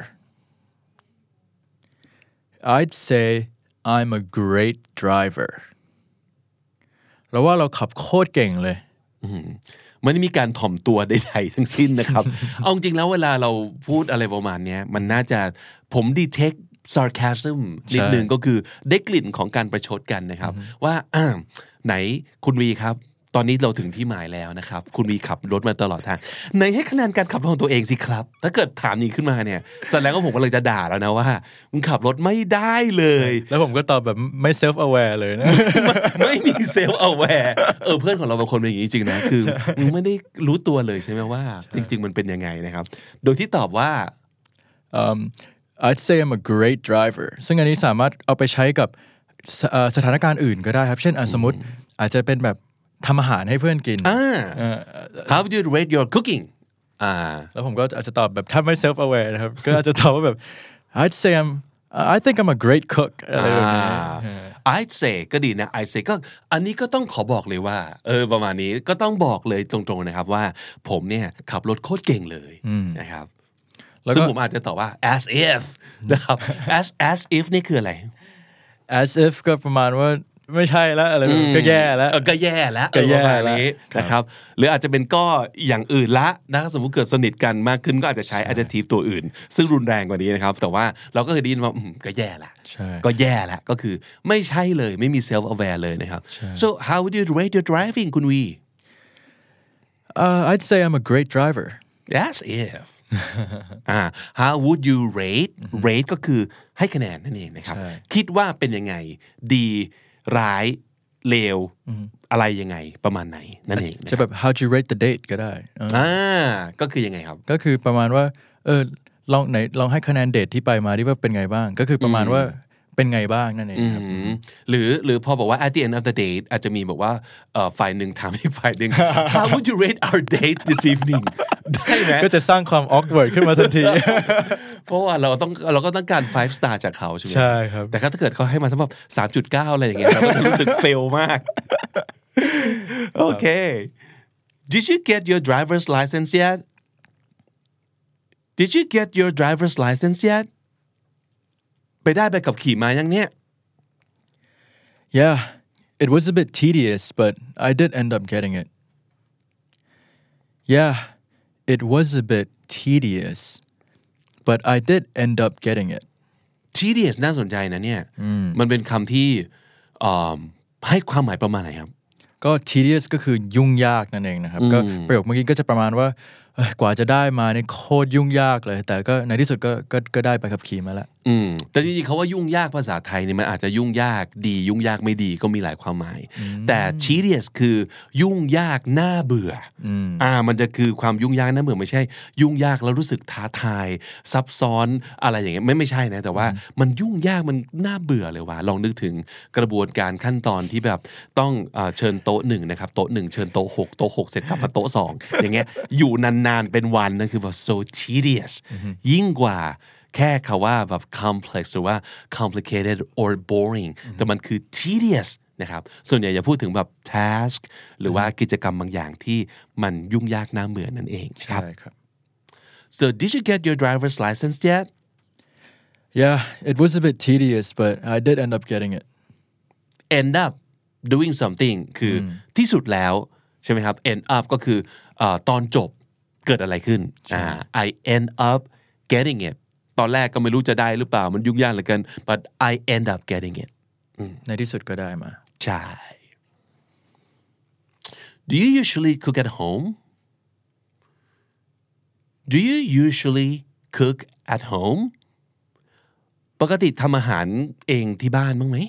I'd say I'm a great driver เราว่าเราขับโคตรเก่งเลยไม่ได้มีการถ่อมตัวใดๆทั้งสิ้นนะครับ เอาจริงแล้วเวลาเราพูดอะไรประมาณนี้มันน่าจะผม detect sarcasm นิดนึงก็คือได้กลิ่นของการประชดกันนะครับว่าไหนคุณวีครับตอนนี้เราถึงที่หมายแล้วนะครับคุณวีขับรถมาตลอดทางไหนให้คะแนนการขับรถของตัวเองสิครับถ้าเกิดถามนี้ขึ้นมาเนี่ยแสดงว่าผมกำลังจะด่าแล้วนะว่ามึงขับรถไม่ได้เลยแล้วผมก็ตอบแบบไม่ self aware เลยนะไม่มี self aware เออเพื่อนของเราบางคนเป็นอย่างนี้จริงนะคือมึงไม่ได้รู้ตัวเลยใช่ไหมว่าจริงๆมันเป็นยังไงนะครับโดยที่ตอบว่า um, I'd say I'm a great driver ซึ่งอันนี้สามารถเอาไปใช้กับสถานการณ์อื่นก็ได้ครับเช่นสมมติอาจจะเป็นแบบทำอาหารให้เพื่อนกิน How would you rate your cooking อ่าแล้วผมก็อาจจะตอบแบบถ้าไม่ self aware นะครับก็อาจจะตอบว่าแบบ I'd say I'm I think I'm a great cook อะไรแบบนี้ I'd say ก็ดีนะ I'd say ก็อันนี้ก็ต้องขอบอกเลยว่าเออประมาณนี้ก็ต้องบอกเลยตรงๆนะครับว่าผมเนี่ยขับรถโคตรเก่งเลยนะครับซึ่งผมอาจจะตอบว่า as if นะครับ as as if นี่คืออะไร as if ก็ประมาณว่าไม่ใช่แล้วอะไรแบบก็แย่แล้วก็แย่แล้วประมาณนี้นะครับหรืออาจจะเป็นก็อย่างอื่นละนะสมมุติเกิดสนิทกันมากขึ้นก็อาจจะใช้ adjective ตัวอื่นซึ่งรุนแรงกว่านี้นะครับแต่ว่าเราก็เคยได้ยินว่าก็แย่ละก็แย่ละก็คือไม่ใช่เลยไม่มี self aware เลยนะครับ so how would you rate your driving คุณวี uh, I'd say I'm a great driver as if อ่า how would you rate rate ก็คือให้คะแนนนั่นเองนะครับคิดว่าเป็นยังไงดีร้ายเลวอะไรยังไงประมาณไหนนั่นเองจะแบบ how'd you rate the date ก็ได้อ่าก็คือยังไงครับก็คือประมาณว่าเออลองไหนลองให้คะแนนเดทที่ไปมาที่ว่าเป็นไงบ้างก็คือประมาณว่าเป็นไงบ้างนั่นเองครับหรือหรือพอบอกว่า at the end of the date อาจจะมีบอกว่าฝ่ายหนึ่งถามอีกฝ่ายหนึ่ง how would you rate our date this evening ได้ไหมก็จะสร้างความ awkward ขึ้นมาทันทีเพราะว่าเราต้องเราก็ต้องการ five star จากเขาใช่ไหมใช่ครับแต่ถ้าเกิดเขาให้มาสักแบบ สามจุดเก้า อะไรอย่างเงี้ยเราก็รู้สึก fail มากโอเค did you get your driver's license yet did you get your driver's license yetไปได้ใบขับขี่มายังเนี่ย Yeah it was a bit tedious but I did end up getting it Yeah it was a bit tedious but I did end up getting it tedious น่าสนใจนะเนี่ยมันเป็นคำที่ให้ความหมายประมาณไหนครับก็ tedious ก็คือยุ่งยากนั่นเองนะครับก็ประโยคเมื่อกี้ก็จะประมาณว่ากว่าจะได้มาเนี่ยโคตรยุ่งยากเลยแต่ก็ในที่สุดก็ก็ก็ได้ไปขับขี่มาแล้วอืมแต่จริงๆเขาว่ายุ่งยากภาษาไทยเนี่ยมันอาจจะยุ่งยากดียุ่งยากไม่ดีก็มีหลายความหมายแต่ tedious คือยุ่งยากน่าเบื่ออ่ามันจะคือความยุ่งยากน่าเบื่อไม่ใช่ยุ่งยากแล้วรู้สึกท้าทายซับซ้อนอะไรอย่างเงี้ยไม่ไม่ใช่นะแต่ว่ามันยุ่งยากมันน่าเบื่อเลยว่ะลองนึกถึงกระบวนการขั้นตอนที่แบบต้องเชิญโต๊ะหนึ่งนะครับโต๊ะหนึ่งเชิญโต๊ะหกโต๊ะหกเสร็จกลับมาโต๊ะสองอย่างเงี้ยอยู่นานนานเป็นวันนั่นคือแบบ so tedious ยิ่งกว่าแค่คำว่าแบบ complex หรือว่า complicated or boring แต่มันคือ tedious นะครับส่วนใหญ่จะพูดถึงแบบ task หรือว่ากิจกรรมบางอย่างที่มันยุ่งยากน่าเบื่อนั่นเองครับ so did you get your driver's license yet Yeah it was a bit tedious but I did end up getting it end up doing something คือที่สุดแล้วใช่ไหมครับ end up ก็คือตอนจบเกิดอะไรขึ้นอ่า I end up getting it ตอนแรกก็ไม่รู้จะได้หรือเปล่ามันยุ่งยากเหลือเกิน but I end up getting it ในที่สุดก็ได้มาใช่ Do you usually cook at home Do you usually cook at home ปกติทำอาหารเองที่บ้านบ้างไหม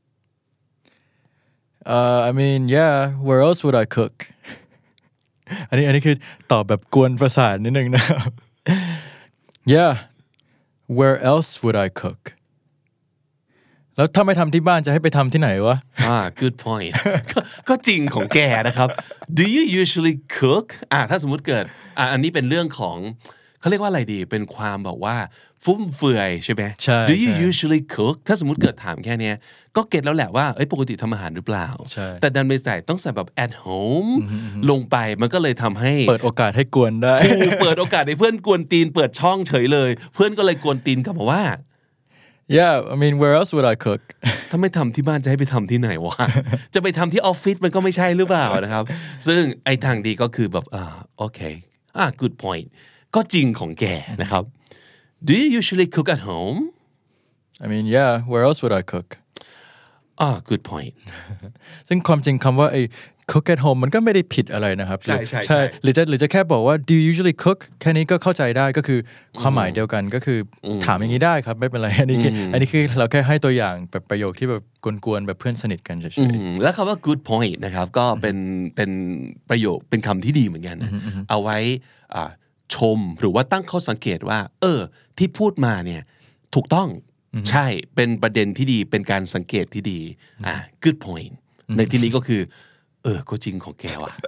Uh I mean yeah where else would I cookอันนี้อันนี้คือตอบแบบกวนประสาทนิดนึงนะครับ Yeah where else would I cook แล้วถ้าไม่ทำที่บ้านจะให้ไปทำที่ไหนวะอ่า good point ก็จริงของแกนะครับ Do you usually cook อ่าถ้าสมมุติเกิดอ่าอันนี้เป็นเรื่องของเขาเรียกว่าอะไรดีเป็นความบอกว่าฟุ่มเฟือยใช่ไหมใช่ Do you ใช่ usually cook ถ้าสมมติเกิดถามแค่เนี้ยก็เก็ตแล้วแหละว่าเอ้ยปกติทำอาหารหรือเปล่าใช่แต่ดันไปใส่ต้องใส่แบบ at home ลงไปมันก็เลยทำให้เปิดโอกาสให้กวนได้ถูกเปิดโอกาสให้เพื่อนกวนตีนเปิดช่องเฉยเลย เพื่อนก็เลยกวนตีนกลับมาว่า Yeah I mean where else would I cook ถ้าไม่ทำที่บ้านจะให้ไปทำที่ไหนวะ จะไปทำที่ออฟฟิศมันก็ไม่ใช่หรือเปล่านะครับ ซึ่งไอ้ทางดีก็คือแบบอ่าโอเคอ่า good point ก็จริงของแกนะครับ Do you usually cook at home I mean yeah where else would I cook อ่า good point ซึ่งความจริงคำว่าไอ้ cook at home มันก็ไม่ได้ผิดอะไรนะครับใช่ใช่ใช่ใช่หรือจะหรือจะแค่บอกว่า do you usually cook แค่นี้ก็เข้าใจได้ก็คือความหมายเดียวกันก็คืออถามอย่างนี้ได้ครับไม่เป็นไรอันนี้คืออันนี้คือเราแค่ให้ตัวอย่างแบบประโยคที่แบบกวนๆแบบเพื่อนสนิทกันเฉยอืมแล้วคำว่า good point นะครับก็เป็นเป็นประโยคเป็นคำที่ดีเหมือนกันนะเอาไว้อ่าชมหรือว่าตั้งข้อสังเกตว่าเออที่พูดมาเนี่ยถูกต้องใช่เป็นประเด็นที่ดีเป็นการสังเกตที่ดีอ่า good point ในที่นี้ก็คือเออก็จริงของแกว่ะ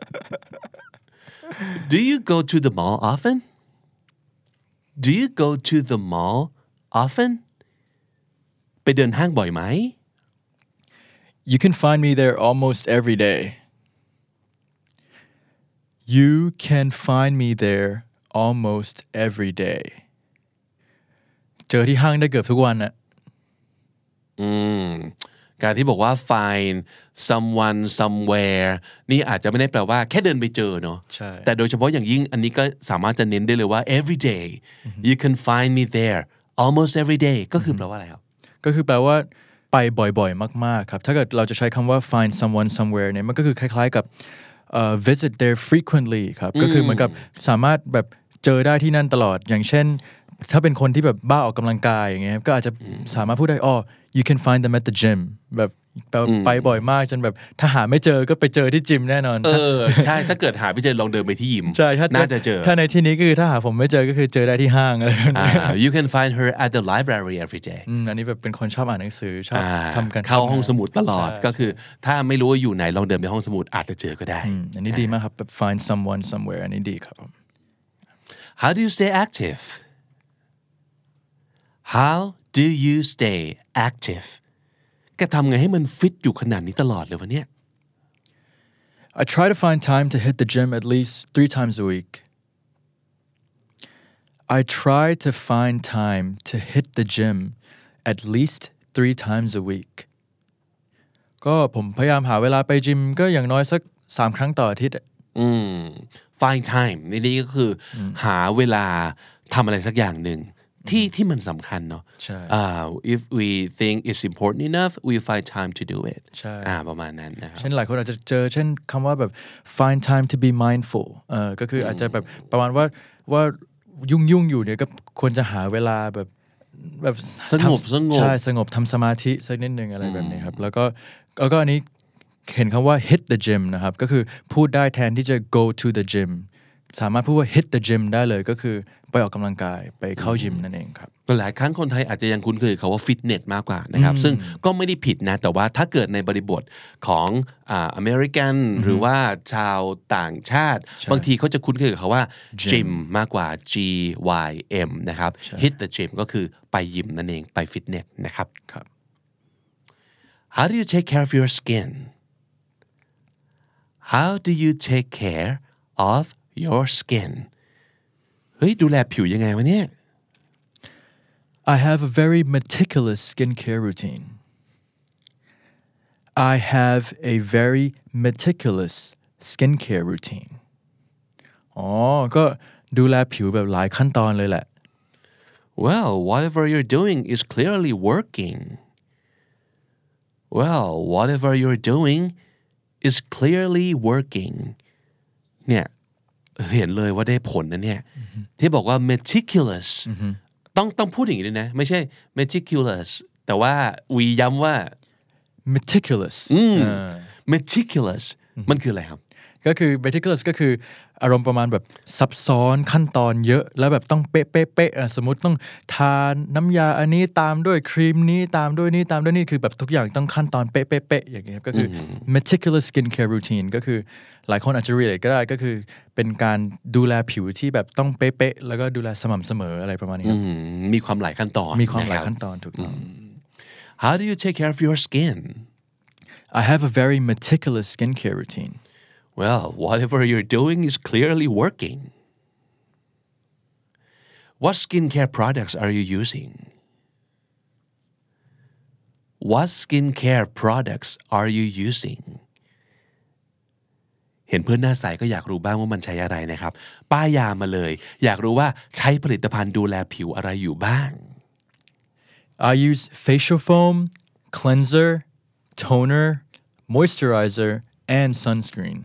Do you go to the mall often Do you go to the mall often ไปเดินห้างบ่อยไหม You can find me there almost every day You can find me there almost every day เจอที่ห้างได้เกือบทุกวันน่ะอืมการที่บอกว่า find someone somewhere นี่อาจจะไม่ได้แปลว่าแค่เดินไปเจอเนาะใช่แต่โดยเฉพาะอย่างยิ่งอันนี้ก็สามารถจะเน้นได้เลยว่า every day you can find me there almost every day ก็คือแปลว่าอะไรครับก็คือแปลว่าไปบ่อยๆมากๆครับถ้าเกิดเราจะใช้คำว่า find someone somewhere เนี่ยมันก็คือคล้ายๆกับ uh, visit there frequently ครับก็คือเหมือนกับสามารถแบบเจอได้ที่นั่นตลอดอย่างเช่นถ้าเป็นคนที่แบบบ้าออกกำลังกายอย่างเงี้ยก็อาจจะสามารถพูดได้อ๋อ you can find them at the gym แบบไปบ่อยมากจนแบบถ้าหาไม่เจอก็ไปเจอที่จิมแน่นอนเออใช่ถ้าเกิดหาไม่เจอลองเดินไปที่ยิมใช่ถ้าน่าจะเจอถ้าในที่นี้ก็คือถ้าหาผมไม่เจอก็คือเจอได้ที่ห้างอะไรแบบนี้ you can find her at the library every day อืมอันนี้แบบเป็นคนชอบอ่านหนังสือชอบทำกันเข้าห้องสมุดตลอดก็คือถ้าไม่รู้ว่าอยู่ไหนลองเดินไปห้องสมุดอาจจะเจอก็ได้อันนี้ดีมากครับแบบ find someone somewhere อันนี้ดีครับ How do you stay active How do you stay active แกทำไงให้มันฟิตอยู่ขนาดนี้ตลอดเลยวะเนี่ย I try to find time to hit the gym at least three times a week I try to find time to hit the gym at least three times a week ก็ผมพยายามหาเวลาไปจิมก็อย่างน้อยสักสามครั้งต่ออาทิตย์อืม find time ในนี้ก็คือหาเวลาทำอะไรสักอย่างหนึ่งที่ที่มันสำคัญเนาะ uh, if we think it's important enough we find time to do it ใช่อ่าประมาณนั้นนะครับเช่นหลายคนอาจจะเจอเช่นคำว่าแบบ find time to be mindful เออก็คืออาจจะแบบประมาณว่าว่ายุ่งยุ่งอยู่เนี่ยก็ควรจะหาเวลาแบบแบบสงบสงบใช่สงบทำสมาธิสักนิดนึงอะไรแบบนี้ครับแล้วก็แล้วก็อันนี้เห็นคำว่า hit the gym นะครับก็คือพูดได้แทนที่จะ go to the gym สามารถพูดว่า hit the gym ได้เลยก็คือไปออกกำลังกายไปเข้ายิมนั่นเองครับหลายครั้งคนไทยอาจจะยังคุ้นเคยเขาว่าฟิตเนสมากกว่านะครับซึ่งก็ไม่ได้ผิดนะแต่ว่าถ้าเกิดในบริบทของอ่าอเมริกันหรือว่าชาวต่างชาติบางทีเขาจะคุ้นเคยกับเขาว่า gym มากกว่า G Y M นะครับ hit the gym ก็คือไปยิมนั่นเองไปฟิตเนสนะครับ How do you take care of your skin How do you take care of your skin เฮ้ยดูแลผิวยังไงวะเนี่ย I have a very meticulous skincare routine I have a very meticulous skincare routine อ๋อก็ดูแลผิวแบบหลายขั้นตอนเลยแหละ Well whatever you're doing is clearly working Well whatever you're doing is clearly working เนี่ยเห็นเลยว่าได้ผลนะเนี่ยที่บอกว่า meticulous ต้องต้องพูดอย่างนี้ด้วยนะไม่ใช่ meticulous แต่ว่าวีย้ำว่า meticulous meticulous มันคืออะไรครับก็คือ meticulous ก็คืออารมณ์ประมาณแบบซับซ้อนขั้นตอนเยอะแล้วแบบต้องเป๊ะเป๊ะเป๊ะสมมติต้องทานน้ำยาอันนี้ตามด้วยครีมนี้ตามด้วยนี่ตามด้วยนี่คือแบบทุกอย่างต้องขั้นตอนเป๊ะเป๊ะเป๊ะอย่างเงี้ยก็คือ meticulous skincare routine ก็คือหลายคนอาจจะ relate ก็ได้ก็คือเป็นการดูแลผิวที่แบบต้องเป๊ะๆแล้วก็ดูแลสม่ำเสมออะไรประมาณนี้ครับมีความหลายขั้นตอนมีความหลายขั้นตอนถูกต้อง How do you take care of your skin? I have a very meticulous skincare routine. Well, whatever you're doing is clearly working. What skincare products are you using? What skincare products are you using?เห็นเพื่อนหน้าใสก็อยากรู้บ้างว่ามันใช้อะไรนะครับป้ายยามาเลยอยากรู้ว่าใช้ผลิตภัณฑ์ดูแลผิวอะไรอยู่บ้าง I use facial foam, cleanser, toner, moisturizer, and sunscreen.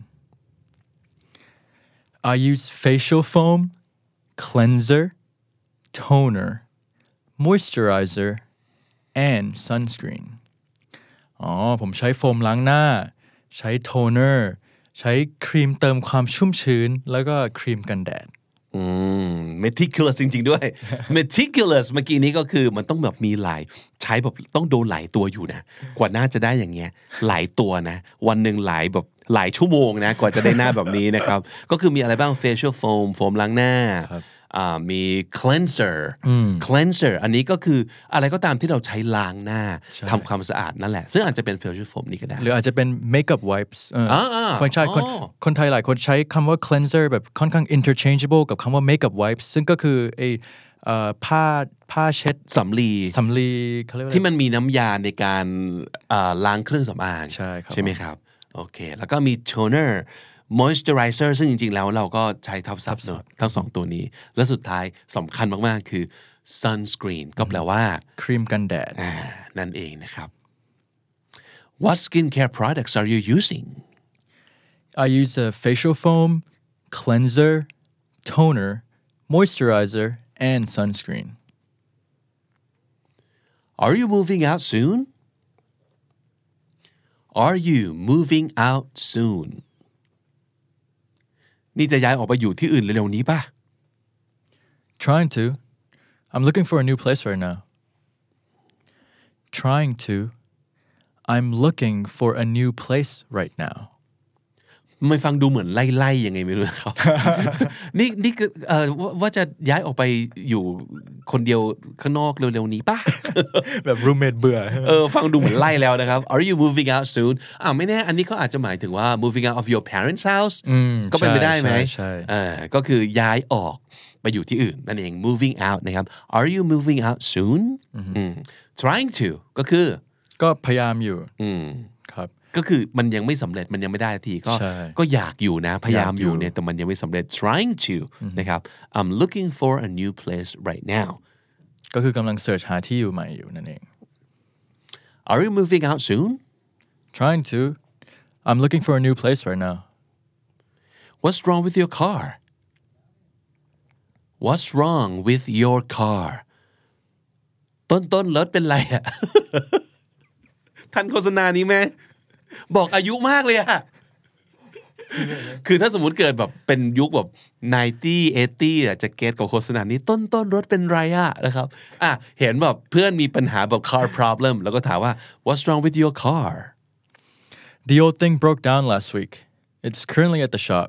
I use facial foam, cleanser, toner, moisturizer, and sunscreen. อ๋อผมใช้โฟมล้างหน้าใช้โทนเนอร์ใช้ครีมเติมความชุ่มชื้นแล้วก็ครีมกันแดดอืม meticulous จริงๆด้วย meticulous เมื่อกี้นี้ก็คือมันต้องแบบมีหลายใช้แบบต้องโดนหลายตัวอยู่นะกว่าหน้าจะได้อย่างเงี้ยหลายตัวนะวันหนึ่งหลายแบบหลายชั่วโมงนะกว่าจะได้หน้าแบบนี้นะครับก็คือมีอะไรบ้าง facial foam โฟมล้างหน้ามี cleanser cleanser อันนี้ก็คืออะไรก็ตามที่เราใช้ล้างหน้าทำความสะอาดนั่นแหละซึ่งอาจจะเป็น facial foam นี่ก็ได้หรืออาจจะเป็น makeup wipes คนใช้คนคนไทยหลายคนใช้คำว่า cleanser แบบค่อนข้าง interchangeable กับคำว่า makeup wipes ซึ่งก็คือไอ้ผ้าผ้าเช็ดสำลีสำลีเขาเรียกว่าที่มันมีน้ำยาในการล้างเครื่องสำอางใช่ครับใช่ไหมครับโอเคแล้วก็มี toner moisturizer ซึ่งจริงๆแล้วเราก็ใช้ทับศัพท์ทั้งสองตัวนี้และสุดท้ายสำคัญมากๆคือ sunscreen ก็แปลว่าครีมกันแดดนั่นเองนะครับ What skincare products are you using? I use a facial foam, cleanser, toner, moisturizer, and sunscreen. Are you moving out soon? Are you moving out soon?นี่จะย้ายออกไปอยู่ที่อื่นเร็วๆนี้ป่ะ Trying to. I'm looking for a new place right now. Trying to. I'm looking for a new place right now. ไม่ฟังดูเหมือนไล่ๆยังไงไม่รู้นะครับ นี่นี่เอ่อว่าจะย้ายออกไปอยู่คนเดียวข้างนอกเร็วๆนี้ป่ะแบบ roommate เบื่อเออฟังดูเหมือนไล่แล้วนะครับ Are you moving out soon อ่าไม่แน่อันนี้ก็อาจจะหมายถึงว่า moving out of your parents' house ก็เป็นไปได้ไหมใช่เออก็คือย้ายออกไปอยู่ที่อื่นนั่นเอง moving out นะครับ Are you moving out soon trying to ก็คือก็พยายามอยู่ครับก็คือมันยังไม่สำเร็จมันยังไม่ได้ทีก็ก็อยากอยู่นะพยายามอยู่เนี่ยแต่มันยังไม่สำเร็จ trying to นะครับ I'm looking for a new place right now ก็คือกำลังเสิร์ชหาที่อยู่ใหม่อยู่นั่นเอง Are you moving out soon? Trying to. I'm looking for a new place right now. What's wrong with your car? What's wrong with your car? ต้นต้นรถเป็นไรอ่ะ ทันโฆษณานี้ไหมบอกอายุมากเลยอะคือถ้าสมมุติเกิดแบบเป็นยุคแบบไนตี้ เอทตี้อ่ะจะเก็ตกับโฆษณานี้ต้นต้นรถเป็นไรอะนะครับอ่ะเห็นแบบเพื่อนมีปัญหาแบบ car problem แล้วก็ถามว่า What's wrong with your car? The old thing broke down last week. It's currently at the shop.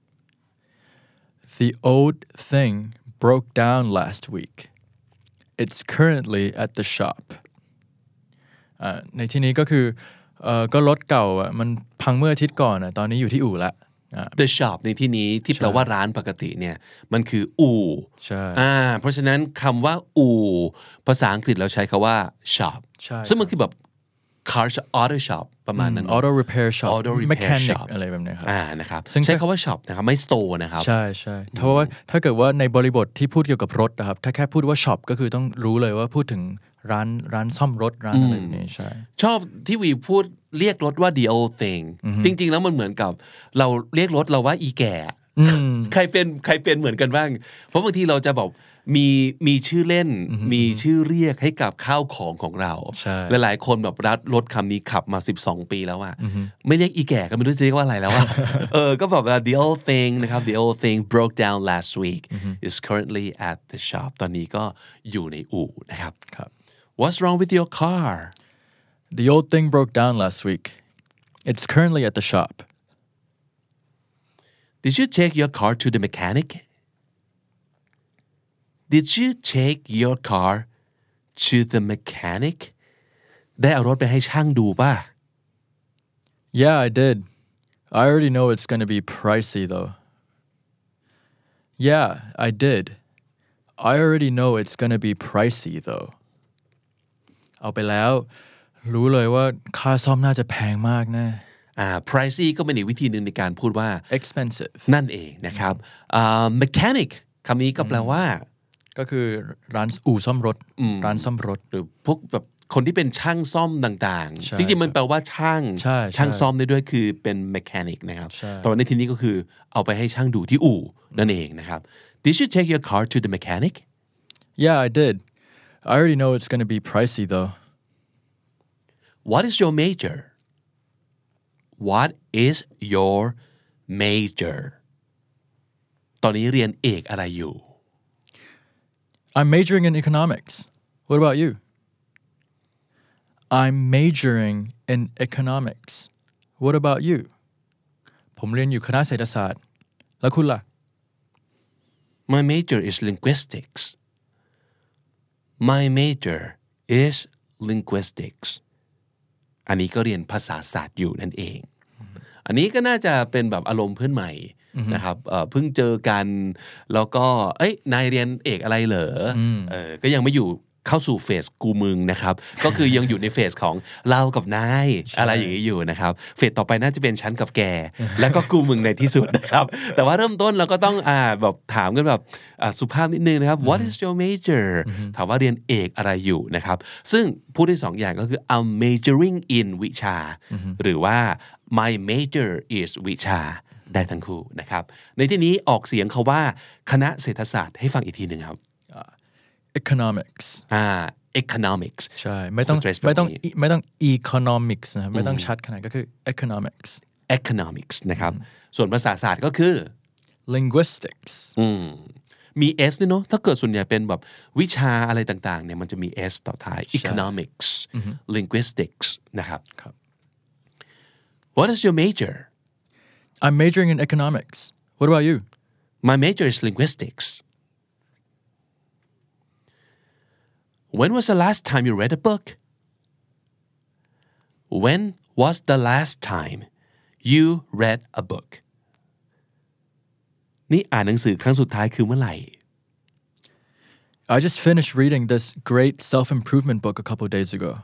The old thing broke down last week. It's currently at the shop. อ่าในที่นี้ก็คือเอ่อก็รถเก่าอ่ะมันพังเมื่ออาทิตย์ก่อนอ่ะตอนนี้อยู่ที่อู่ละ The shop ในที่นี้ที่แปลว่าร้านปกติเนี่ยมันคืออู่ใช่อ่าเพราะฉะนั้นคำว่าอู่ภาษาอังกฤษเราใช้คำว่า shop ซึ่งมันคือแบบ car auto shop ประมาณนั้น auto repair shop auto repair mechanic shop อะไรแบบนี้ครับอ่านะครับใช้คำว่า shop นะครับไม่ store นะครับใช่ใช่เพราะว่าถ้าเกิดว่าในบริบทที่พูดเกี่ยวกับรถนะครับถ้าแค่พูดว่า shop ก็คือต้องรู้เลยว่าพูดถึงร้านร้านซ่อมรถร้านอะไรแบบนี้ใช่ชอบที่วีพูดเรียกรถว่า the old thing จริงๆแล้วมันเหมือนกับเราเรียกรถเราว่าอีแก่ใครเป็นใครเป็นเหมือนกันบ้างเพราะบางทีเราจะบอกมีมีชื่อเล่นมีชื่อเรียกให้กับข้าวของของเราหลายๆคนแบบรัดรถคำนี้ขับมาสิบสองปีแล้วอ่ะไม่เรียกอีแก่ก็ไม่รู้จะเรียกว่าอะไรแล้วอ่ะเออก็แบบว่า the old thing นะครับ the old thing broke down last week is currently at the shop ตอนนี้ก็อยู่ในอู่นะครับ What's wrong with your car The old thing broke down last week It's currently at the shop Did you take your car to the mechanic Did you take your car to the mechanic ได้เอารถไปให้ช่างดูป่ะ Yeah I did I already know it's gonna be pricey though Yeah I did I already know it's gonna be pricey though เอาไปแล้วรู้เลยว่าค่าซ่อมน่าจะแพงมากแน่อ่า pricey ก็เป็นอีกวิธีหนึ่งในการพูดว่า expensive นั่นเองนะครับอ่า mechanic คำนี้ก็แปลว่าก็คือร้านอู่ซ่อมรถร้านซ่อมรถหรือพวกแบบคนที่เป็นช่างซ่อมต่างๆจริงๆมันแปลว่าช่างช่างซ่อมได้ด้วยคือเป็น mechanic นะครับแต่ในที่นี้ก็คือเอาไปให้ช่างดูที่อู่นั่นเองนะครับ Did you take your car to the mechanic Yeah I did I already know it's gonna be pricey though What is your major What is your major ตอนนี้เรียนเอกอะไรอยู่ I'm majoring in economics. What about you? I'm majoring in economics. What about you? ผมเรียนอยู่คณะเศรษฐศาสตร์แล้วคุณล่ะ My major is linguistics. My major is linguistics. อันนี้ก็เรียนภาษาศาสตร์อยู่นั่นเอง อันนี้ก็น่าจะเป็นแบบอารมณ์เพื่อนใหม่นะครับเพิ่งเจอกันแล้วก็เอ้ยนายเรียนเอกอะไรเหรอเออก็ยังไม่อยู่เข้าสู่เฟสกูมึงนะครับก็คือยังอยู่ในเฟสของเรากับนายอะไรอย่างนี้อยู่นะครับเฟสต่อไปน่าจะเป็นฉันกับแกแล้วก็กูมึงในที่สุดนะครับแต่ว่าเริ่มต้นเราก็ต้องอ่าแบบถามกันแบบสุภาพนิดนึงนะครับ What is your major ถามว่าเรียนเอกอะไรอยู่นะครับซึ่งพูดได้สองอย่างก็คือ I'm majoring in วิชาหรือว่า my major is วิชาได้ทั้งคู่นะครับในที่นี้ออกเสียงคาว่าคณะเศรษฐศาสตร์ให้ฟังอีกทีหนึ่งครับ economics อ่า economics ใช่ไม่ต้องไม่ต้องไม่ต้อง economics นะครับไม่ต้องชัดขนาดก็คือ economics economics นะครับส่วนภาษาศาสตร์ก็คือ linguistics อืมมี s ด้วยเนาะถ้าเกิดส่วนใหญ่เป็นแบบวิชาอะไรต่างๆเนี่ยมันจะมี s ต่อท้าย economics linguistics นะครับ What is your major I'm majoring in economics. What about you? My major is linguistics. When was the last time you read a book? When was the last time you read a book? นี่อ่านหนังสือครั้งสุดท้ายคือเมื่อไหร่ I just finished reading this great self-improvement book a couple of days ago.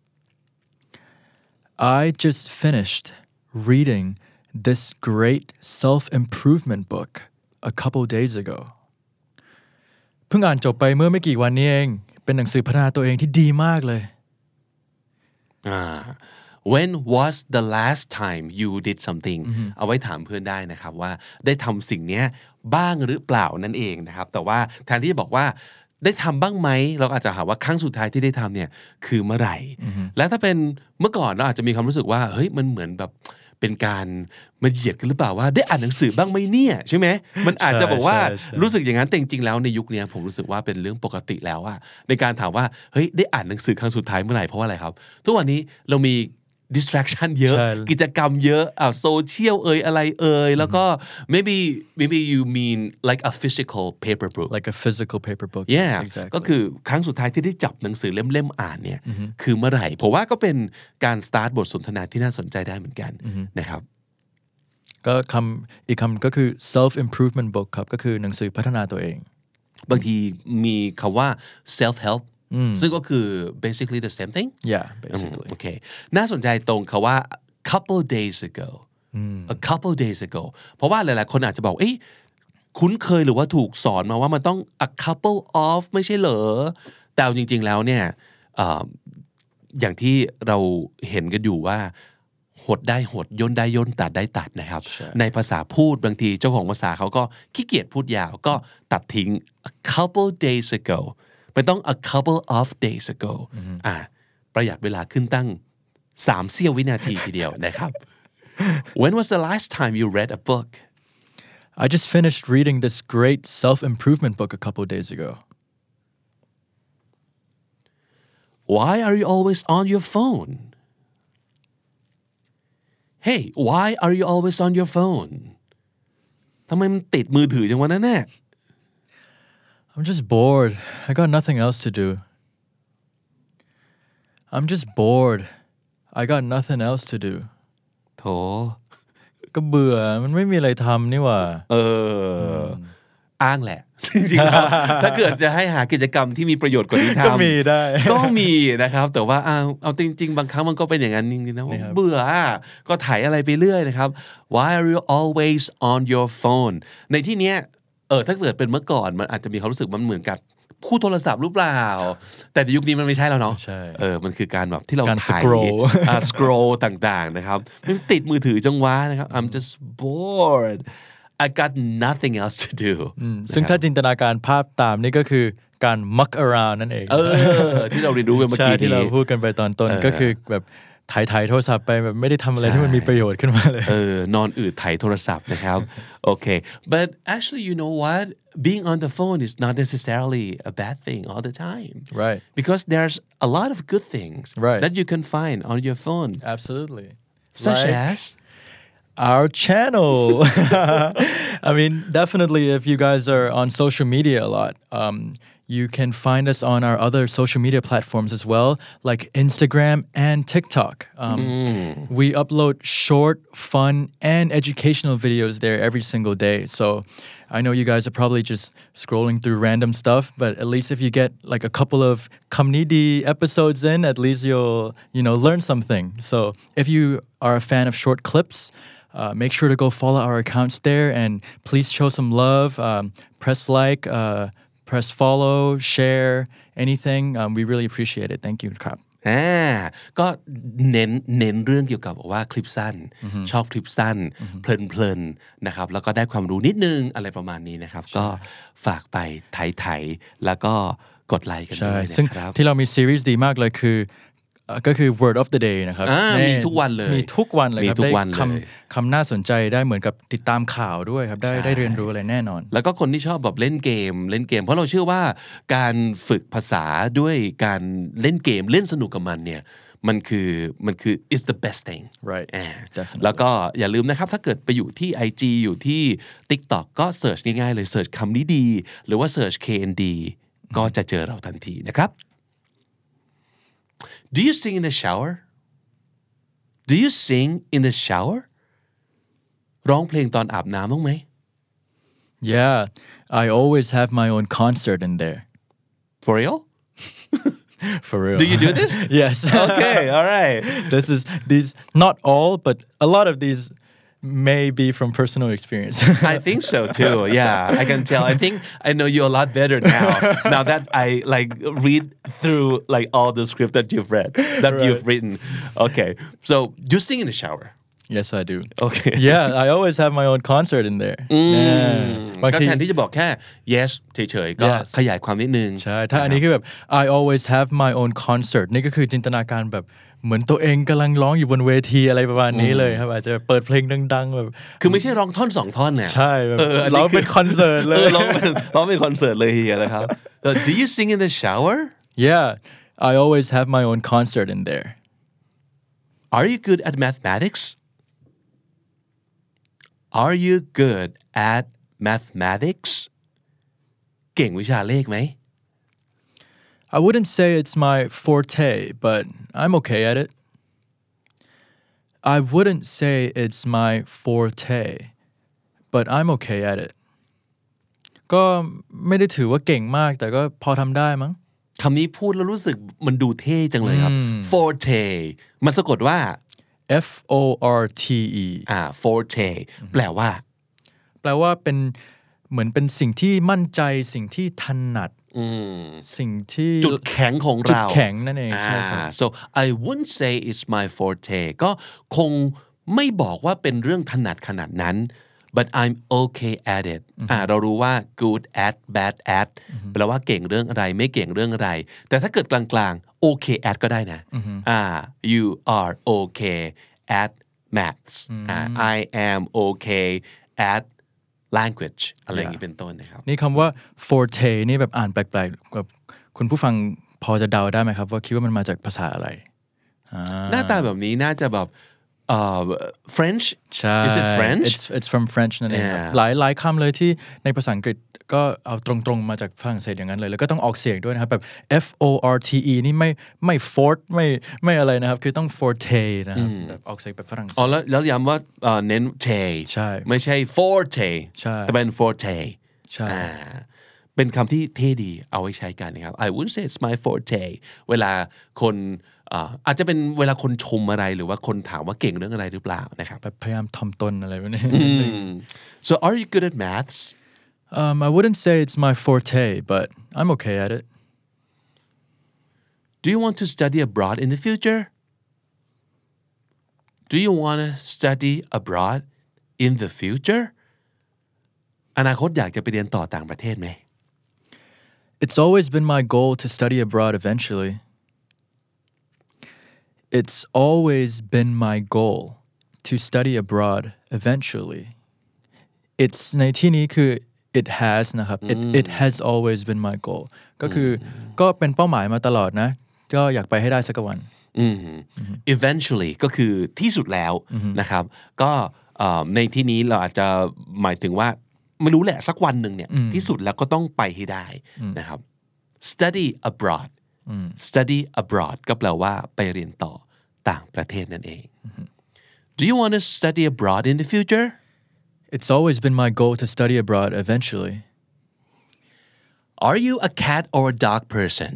I just finished reading this great self-improvement book a couple days ago เพิ่งอ่านจบไปเมื่อไม่กี่วันนี้เองเป็นหนังสือพัฒนาตัวเองที่ดีมากเลยอ่า When was the last time you did something เอาไว้ถามเพื่อนได้นะครับว่าได้ทำสิ่งนี้บ้างหรือเปล่านั่นเองนะครับแต่ว่าแทนที่จะบอกว่าได้ทำบ้างไหมเราอาจจะหาว่าครั้งสุดท้ายที่ได้ทำเนี่ยคือเมื่อไหร่และถ้าเป็นเมื่อก่อนเราอาจจะมีความรู้สึกว่าเฮ้ยมันเหมือนแบบเป็นการมาเหยียดกันหรือเปล่าว่าได้อ่านหนังสือบ้างไหมเนี่ยใช่ไหมมันอาจจะบอกว่ารู้สึกอย่างนั้นแต่จริงๆแล้วในยุคนี้ผมรู้สึกว่าเป็นเรื่องปกติแล้วอะในการถามว่าเฮ้ยได้อ่านหนังสือครั้งสุดท้ายเมื่อไหร่เพราะว่าอะไรครับทุกวันนี้เรามี distraction เยอะกิจกรรมเยอะอ่าโซเชียลเอ่ยอะไรเอ่ยแล้วก็ maybe maybe you mean like a physical paper book like a physical paper book yeah exactly. ก็คือครั้งสุดท้ายที่ได้จับหนังสือเล่มๆอ่านเนี่ยคือเมื่อไหร่ผมว่าก็เป็นการ start บทสนทนาที่น่าสนใจได้เหมือนกันนะครับก็คำอีกคำก็คือ self improvement book ครับก็คือหนังสือพัฒนาตัวเองบางทีมีคำว่า self help ซึ่งก็คือ basically the same thing yeah basically โอเคน่าสนใจตรงคำว่า couple days ago a couple days ago เพราะว่าหลายๆคนอาจจะบอกเอ้ยคุ้นเคยหรือว่าถูกสอนมาว่ามันต้อง a couple of ไม่ใช่เหรอแต่จริงๆแล้วเนี่ย อย่างที่เราเห็นกันอยู่ว่าหดได้หดย่นได้ย่นตัดได้ตัดนะครับในภาษาพูดบางทีเจ้าของภาษาเขาก็ขี้เกียจพูดยาวก็ตัดทิ้ง a couple days ago ไม่ต้อง a couple of days ago อ่าประหยัดเวลาขึ้นตั้งสามเสี้ยววินาทีทีเดียวนะครับ When was the last time you read a book? I just finished reading this great self-improvement book a couple days ago. Why are you always on your phone? Hey, why are you always on your phone? ทำไมมันติดมือถือจังวะนั่นแน่ I'm just bored. I got nothing else to do. I'm just bored. I got nothing else to do. โถก็เบื่อมันไม่มีอะไรทำนี่หว่าเอออ้างแหละจริงๆแล้วถ้าเกิดจะให้หากิจกรรมที่มีประโยชน์กว่านี้ทำก็มีได้ก็มีนะครับแต่ว่าเอาเอาจริงๆบางครั้งมันก็เป็นอย่างนั้นจริงๆนะเบื่อก็ถ่ายอะไรไปเรื่อยนะครับ Why are you always on your phone ในที่เนี้ยเออถ้าเกิดเป็นเมื่อก่อนมันอาจจะมีความรู้สึกมันเหมือนกับคู่โทรศัพท์หรือเปล่าแต่ในยุคนี้มันไม่ใช่แล้วเนาะเออมันคือการแบบที่เราถ่ายอ่า scroll ต่างๆนะครับมันติดมือถือจังวะนะครับ I'm just bored I got nothing else to do ซึ่งถ้าจินตนาการภาพตามนี่ก็คือการ muck around นั่นเองเออที่เราเรียนรู้กันเมื่อกี้ที่เราพูดกันไปตอนต้นก็คือแบบถ่ายถ่ายโทรศัพท์ไปแบบไม่ได้ทำอะไรที่มันมีประโยชน์ขึ้นมาเลยเออนอนอืดถ่ายโทรศัพท์นะครับโอเค but actually you know what being on the phone is not necessarily a bad thing all the time right because there's a lot of good things right. that you can find on your phone absolutely such like as our channel I mean definitely if you guys are on social media a lot um, you can find us on our other social media platforms as well like Instagram and TikTok um, mm. we upload short fun and educational videos there every single day so I know you guys are probably just scrolling through random stuff but at least if you get like a couple of Community episodes in at least you'll you know learn something so if you are a fan of short clips Uh, make sure to go follow our accounts there and please show some love um, press like uh, press follow share anything um, we really appreciate it thank you ครับอ่าก็เน้นเน้นเรื่องเกี่ยวกับว่าคลิปสั้น mm-hmm. ชอบคลิปสั้น mm-hmm. เพลินๆนะครับแล้วก็ได้ความรู้นิดนึงอะไรประมาณนี้นะครับก็ฝากไปไถๆแล้วก็กดไลค์กันด้วยนะครับที่เรามีซีรีส์ดีมากเลยคือก็คือ word of the day นะครับมีทุกวันเลยมีทุกวันเลยครับได้คำคำน่าสนใจได้เหมือนกับติดตามข่าวด้วยครับได้ได้เรียนรู้อะไรแน่นอนแล้วก็คนที่ชอบแบบเล่นเกมเล่นเกมเพราะเราเชื่อว่าการฝึกภาษาด้วยการเล่นเกมเล่นสนุกกับมันเนี่ยมันคือมันคือ is the best thing right แล้วก็อย่าลืมนะครับถ้าเกิดไปอยู่ที่ ไอ จี อยู่ที่ TikTok ก็เสิร์ชง่ายๆเลยเสิร์ชคำนี้ดีหรือว่าเสิร์ช เค เอ็น ดี ก็จะเจอเราทันทีนะครับDo you sing in the shower? Do you sing in the shower? ร้องเพลงตอนอาบน้ำบ้างไหม Yeah, I always have my own concert in there. For real? For real. Do you do this? Yes. Okay, all right. This is these not all, but a lot of these may be from personal experience. I think so too. Yeah, I can tell. I think I know you a lot better now. Now that I like read through like all the script that you've read, that right. you've written. Okay, so you sing in the shower. Yes, I do. Okay. Yeah, I always have my own concert in there. ก็แทนที่จะบอกแค่ yes เฉยๆก็ขยายความนิดนึงใช่ถ้าอันนี้คือแบบ I always have my own concert นี่ก็คือจินตนาการแบบเหมือนตัวเองกำลังร้องอยู่บนเวทีอะไรประมาณนี้เลยครับอาจจะเปิดเพลงดังๆแบบคือไม่ใช่ร้องท่อนสองท่อนเนี่ยใช่แบบร้องเป็นคอนเสิร์ตเลยร้องเป็นร้องเป็นคอนเสิร์ตเลยนะครับ Do you sing in the shower? Yeah, I always have my own concert in there. Are you good at mathematics? Are you good at mathematics? เก่งวิชาเลขไหม I wouldn't say it's my forte, but I'm okay at it. I wouldn't say it's my forte, but I'm okay at it. ก็ไม่ได้ถือว่าเก่งมากแต่ก็พอทำได้มั้งคำนี้พูดแล้วรู้สึกมันดูเท่จังเลยครับ forte มันสะกดว่า F O R T E อ่า forte แปลว่าแปลว่าเป็นเหมือนเป็นสิ่งที่มั่นใจสิ่งที่ถนัดสิ่งที่จุดแข็งของจุดเราแข็งนั่นเองใช่ครับอ่า so I wouldn't say it's my forte ก็คงไม่บอกว่าเป็นเรื่องถนัดขนาดนั้น but I'm okay at it อ่าเรารู้ว่า good at bad at แปลว่าเก่งเรื่องอะไรไม่เก่งเรื่องอะไรแต่ถ้าเกิดกลางๆ okay at ก็ได้นะอ่า you are okay at maths อ่า I am okay at language อะไรอย่างนี้เป็นต้นนะครับนี่คำว่า forte นี่แบบอ่านแปลกๆแบบคุณผู้ฟังพอจะเดาได้ไหมครับว่าคิดว่ามันมาจากภาษาอะไรหน้าตาแบบนี้น่าจะแบบเอ่อ French ใช่ Is it French It's it's from French นั่นเองครับ Yeah. หลายหลายคำเลยที่ในภาษาอังกฤษก็เอาตรงๆมาจากฝรั่งเศสอย่างนั้นเลยแล้วก็ต้องออกเสียงด้วยนะครับแบบ F O R T E นี่ไม่ไม่ fort ไม่ไม่อะไรนะครับคือต้อง forte นะครับแบบออกเสียงแบบฝรั่งเศสอ๋อแล้วแล้วย้ำว่าเอ่อเน้น te ใช่ไม่ใช่ forte ใช่แต่เป็น forte ใช่อ่าเป็นคำที่เท่ดีเอาไว้ใช้กันนะครับ I wouldn't say it's my forte เวลาคนอ่าอาจจะเป็นเวลาคนชมอะไรหรือว่าคนถามว่าเก่งเรื่องอะไรหรือเปล่านะครับแบบพยายามทำตนอะไรแบบนี้ so are you good at maths um, I wouldn't say it's my forte but I'm okay at it do you want to study abroad in the future do you want to study abroad in the future อนาคตอยากจะไปเรียนต่อต่างประเทศไหม It's always been my goal to study abroad eventually It's always been my goal to study abroad eventually It's ในที่นี้คือ it has นะครับ it it has always been my goal ก็คือก็เป็นเป้าหมายมาตลอดนะก็อยากไปให้ได้สักวัน eventually ก็คือที่สุดแล้วนะครับก็ในที่นี้เราอาจจะหมายถึงว่าไม่รู้แหละสักวันหนึ่งเนี่ยที่สุดแล้วก็ต้องไปให้ได้นะครับ study abroad study abroad ก็แปลว่าไปเรียนต่อต่างประเทศนั่นเอง Do you want to study abroad in the future? It's always been my goal to study abroad eventually. Are you a cat or a dog person?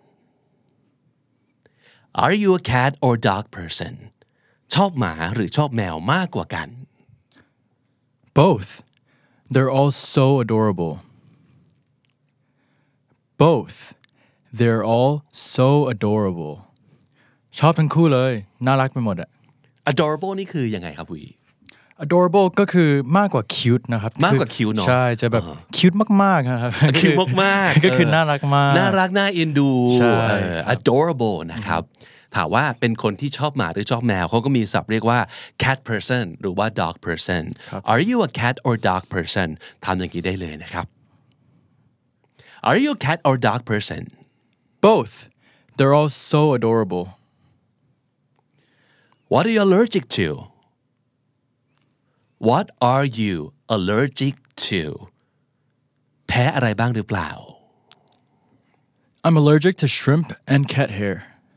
Are you a cat or dog person? ชอบหมาหรือชอบแมวมากกว่ากัน Both. They're all so adorable. Both. They're all so adorable. ชอบทั้งคู่เลยน่ารักไปหมดอะ adorable นี่คือยังไงครับวี adorable ก็คือมากกว่า cute นะครับมากกว่า cute เนอะใช่จะแบบ cute มากๆนะครับ cute มากๆก็คือน่ารักมากน่ารักน่าเอ็นดูใช่เออ adorable นะครับถามว่าเป็นคนที่ชอบหมาหรือชอบแมวเขาก็มีศัพท์เรียกว่า cat person หรือว่า dog person Are you a cat or dog person ทำอย่างนี้ได้เลยนะครับ Are you a cat or dog person Both. They're all so adorable. What are you allergic to? What are you allergic to? แพ้อะไรบ้างหรือเปล่า I'm allergic to shrimp and cat hair.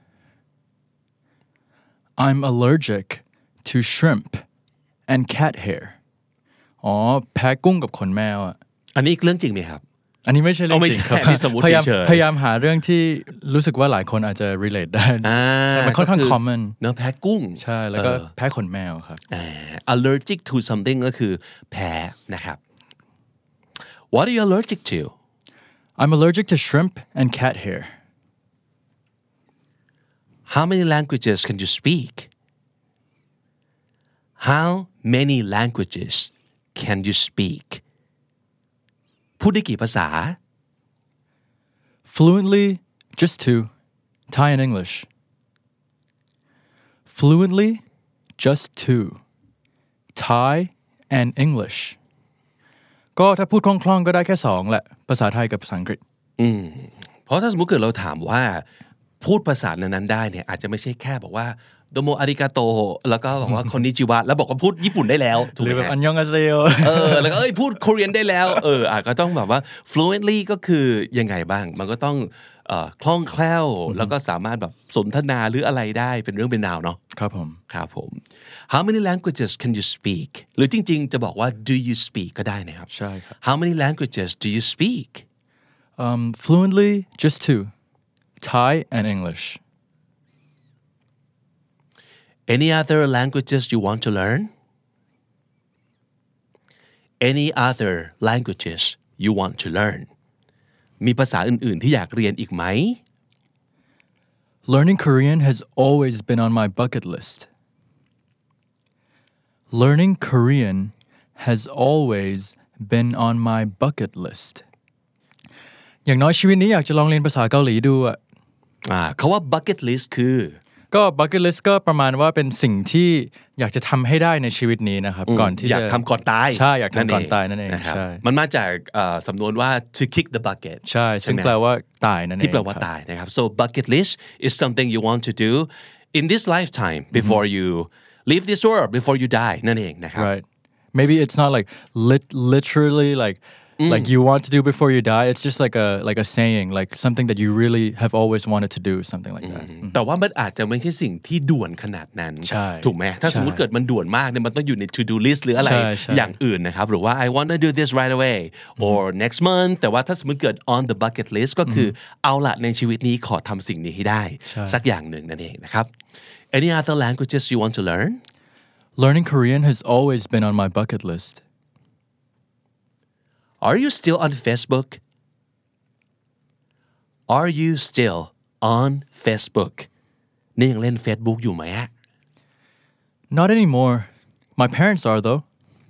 I'm allergic to shrimp and cat hair. อ๋อแพ้กุ้งกับขนแมวอ่ะอันนี้เรื่องจริงไหมครับอันนี้ไม่ใช่เรื่องจริงครับไม่ใช่อันนี้สมมุติพยายามเฉยๆพยายามหาเรื่องที่รู้สึกว่าหลายคนอาจจะ relate ได้แต่มันค่อนข้าง common เนื้อแพ้กุ้งใช่แล้วก็แพ้ขนแมวครับ allergic to something ก็คือแพ้นะครับ What are you allergic to I'm allergic to shrimp and cat hair How many languages can you speak How many languages can you speakพูดได้กี่ภาษา Fluently just two Thai and English Fluently just two Thai and English ก็ถ้าพูดคล่องๆก็ได้แค่สองแหละภาษาไทยกับภาษาอังกฤษอืมเพราะถ้าสมมติเกิดเราถามว่าพูดภาษานั้นๆได้เนี่ยอาจจะไม่ใช่แค่บอกว่าโดโมอาริกาโตแล้วก็บอกว่าคนนิจิวะแล้วบอกว่าพูดญี่ปุ่นได้แล้วถูกหไหรือมแบบอันยองอาเซโอเออแล้วก็เอ้ยพูด Korean ได้แล้วเอออ่ะก็ต้องแบบว่า fluently ก็คือยังไงบ้างมันก็ต้องเอ่อคล่องแคล่วแล้วก็สามารถแบบสนทนาหรืออะไรได้เป็นเรื่องเป็นราวเนาะครับผมครับผม How many languages can you speak หรือจริงๆจะบอกว่า do you speak ก็ได้นะครับใช่ครับ How many languages do you speak um, Fluently just two Thai and English Any other languages you want to learn Any other languages you want to learn มีภาษาอื่นๆที่อยากเรียนอีกไหม Learning Korean has always been on my bucket list. Learning Korean has always been on my bucket list. อย่างน้อยชีวิตนี้อยากจะลองเรียนภาษาเกาหลีดูอ่ะอ่าคำว่า bucket list คือก็ bucket list ก็ประมาณว่าเป็นสิ่งที่อยากจะทำให้ได้ในชีวิตนี้นะครับก่อนที่อยากทำก่อนตายใช่อยากทำก่อนตายนั่นเองใช่มันมาจากสำนวนว่า to kick the bucket ใช่ซึ่งแปลว่าตายนั่นเองที่แปลว่าตายนะครับ so bucket list is something you want to do in this lifetime before you leave this world before you die นั่นเองนะครับ right maybe it's not like lit literally like like you want to do before you die it's just like a like a saying like something that you really have always wanted to do something like that แต่ว่ามันอาจจะไม่ใช่สิ่งที่ด่วนขนาดนั้นถูกไหมถ้าสมมุติเกิดมันด่วนมากเนี่ยมันต้องอยู่ใน to do list หรืออะไรอย่างอื่นนะครับหรือว่า I want to do this right away or next month แต่ว่าถ้าสมมุติเกิด on the bucket list ก็คือเอาละในชีวิตนี้ขอทำสิ่งนี้ให้ได้สักอย่างหนึ่งนั่นเองนะครับ Any other languages you want to learn? Learning Korean has always been on my bucket list.Are you still on Facebook? Are you still on Facebook? นี่ยังเล่น Facebook อยู่ไหมฮะ Not anymore. My parents are though.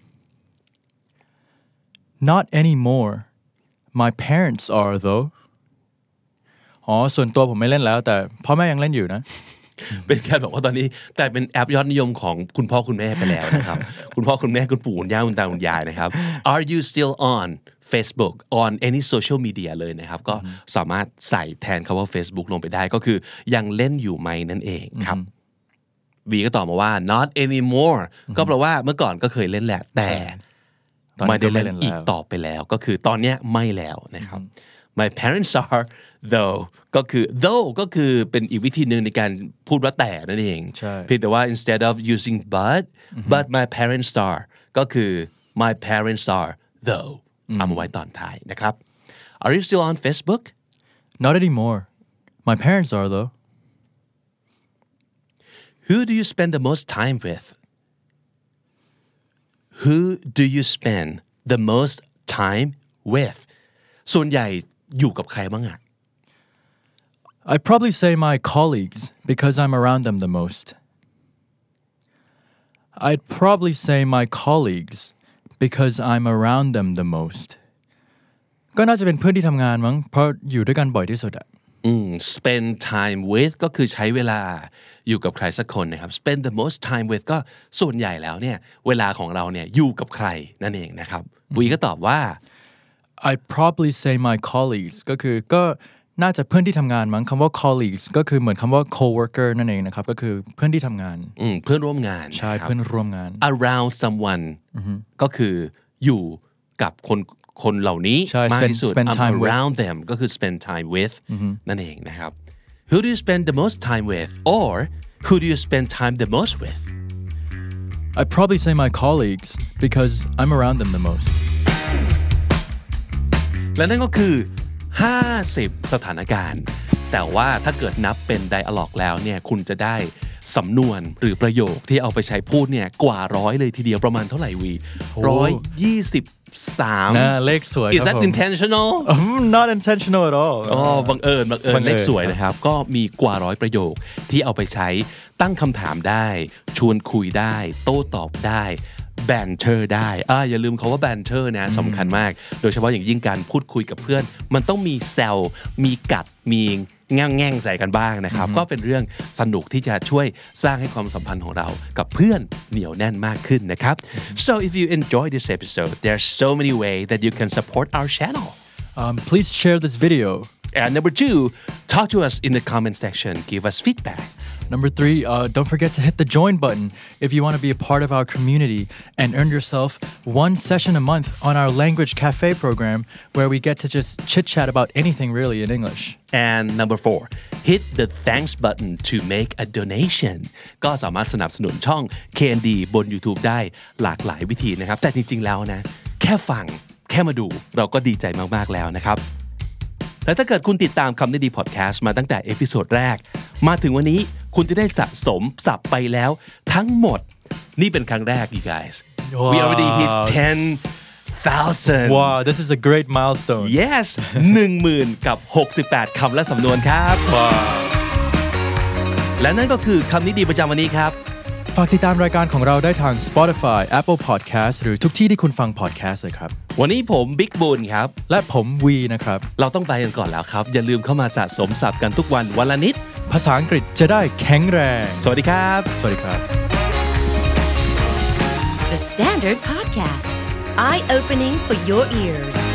Not anymore. My parents are though. อ๋อส่วนตัวผมไม่เล่นแล้วแต่พ่อแม่ยังเล่นอยู่นะเป็นการบอกว่าตอนนี้แต่เป็นแอปยอดนิยมของคุณพ่อคุณแม่ไปแล้วนะครับ คุณพ่อคุณแม่คุณปู่คุณย่าคุณตาคุณยายนะครับ Are you still on Facebook on any social media เลยนะครับก็สามารถใส่แทนคำว่า Facebook ลงไปได้ก็คือยังเล่นอยู่ไหมนั่นเองครับวีก็ตอบมาว่า not anymore ก็แปลว่าเมื่อก่อนก็เคยเล่นแหละแต่ไม่ได้เล่นอีกต่อไปแล้วก็คือตอนนี้ไม่แล้วนะครับ My parents are though ก็คือ though ก็คือเป็นอีกวิธีหนึ่งในการพูดว่าแต่นั่นเองเพียงแต่ว่า instead of using but but my parents are ก็คือ my parents are though เอามาไว้ตอนท้ายนะครับ Are you still on Facebook? Not anymore. My parents are though. Who do you spend the most time with? Who do you spend the most time with? ส่วนใหญ่อยู่กับใครบ้างอ่ะ I'd probably say my colleagues because I'm around them the most. I'd probably say my colleagues because I'm around them the most. ก็น่าจะเป็นเพื่อนที่ทำงานมั้งเพราะอยู่ด้วยกันบ่อยที่สุดอ่ะอืม spend time with ก็คือใช้เวลาอยู่กับใครสักคนนะครับ spend the most time with ก็ส่วนใหญ่แล้วเนี่ยเวลาของเราเนี่ยอยู่กับใครนั่นเองนะครับวีก็ตอบว่า I'd probably say my colleagues ก็คือก็น่าจะเพื่อนที่ทำงานมั้งคำว่า colleagues ก็คือเหมือนคำว่า co-worker นั่นเองนะครับก็คือเพื่อนที่ทำงานอืมเพื่อนร่วมงานใช่เพื่อนร่วมงาน around someone ก็คืออยู่กับคนคนเหล่านี้มากที่สุด I'm around them ก็คือ spend time with นั่นเองนะครับ Who do you spend the most time with or who do you spend time the most with I'd probably say my colleagues because I'm around them the most และนั่นก็คือห้าสิบสถานการณ์แต่ว่าถ้าเกิดนับเป็น dialogue แล้วเนี่ยคุณจะได้สำนวนหรือประโยคที่เอาไปใช้พูดเนี่ยกว่าร้อยเลยทีเดียวประมาณเท่าไหร่วีร้อยยี่สิบสามเลขสวย Is that intentional Not intentional at all อ๋อบังเอิญบังเอิญเลขสวยนะครับก็มีกว่าร้อยประโยคที่เอาไปใช้ตั้งคำถามได้ชวนคุยได้โต้ตอบได้banter ได้อ่าอย่าลืมคำว่า banter นะสำคัญมากโดยเฉพาะอย่างยิ่งการพูดคุยกับเพื่อนมันต้องมีแซวมีกัดมีแง่งแง่งใส่กันบ้างนะครับก็เป็นเรื่องสนุกที่จะช่วยสร้างให้ความสัมพันธ์ของเรากับเพื่อนเหนียวแน่นมากขึ้นนะครับ so if you enjoy this episode there are so many ways that you can support our channel um, please share this video and number two talk to us in the comment section give us feedback Number three, uh, don't forget to hit the join button if you want to be a part of our community and earn yourself one session a month on our language cafe program where we get to just chit chat about anything really in English. And number four, hit the thanks button to make a donation ก็สามารถสนับสนุนช่อง เค เอ็น ดี บน YouTube ได้หลากหลายวิธีนะครับแต่จริงๆแล้วนะแค่ฟังแค่มาดูเราก็ดีใจมากๆแล้วนะครับและถ้าเกิดคุณติดตามคำนี้ดีพอดแคสต์มาตั้งแต่เอพิโซดแรกมาถึงวันนี้คุณจะได้สะสมศัพท์ไปแล้วทั้งหมดนี่เป็นครั้งแรก you guys we already hit ten thousand Wow this is a great milestone yes หนึ่งหมื่นกับหกสิบแปดคำและสำนวนครับ Wow และนั่นก็คือคำนี้ดีประจำวันนี้ครับฝากติดตามรายการของเราได้ทาง Spotify Apple Podcast หรือทุกที่ที่คุณฟัง podcast เลยครับวันนี้ผมบิ๊กบูนครับและผมวีนะครับเราต้องไปกันก่อนแล้วครับอย่าลืมเข้ามาสะสมศัพท์กันทุกวันวันละนิดภาษาอังกฤษจะได้แข็งแรงสวัสดีครับสวัสดีครับ The Standard Podcast Eye Opening for Your Ears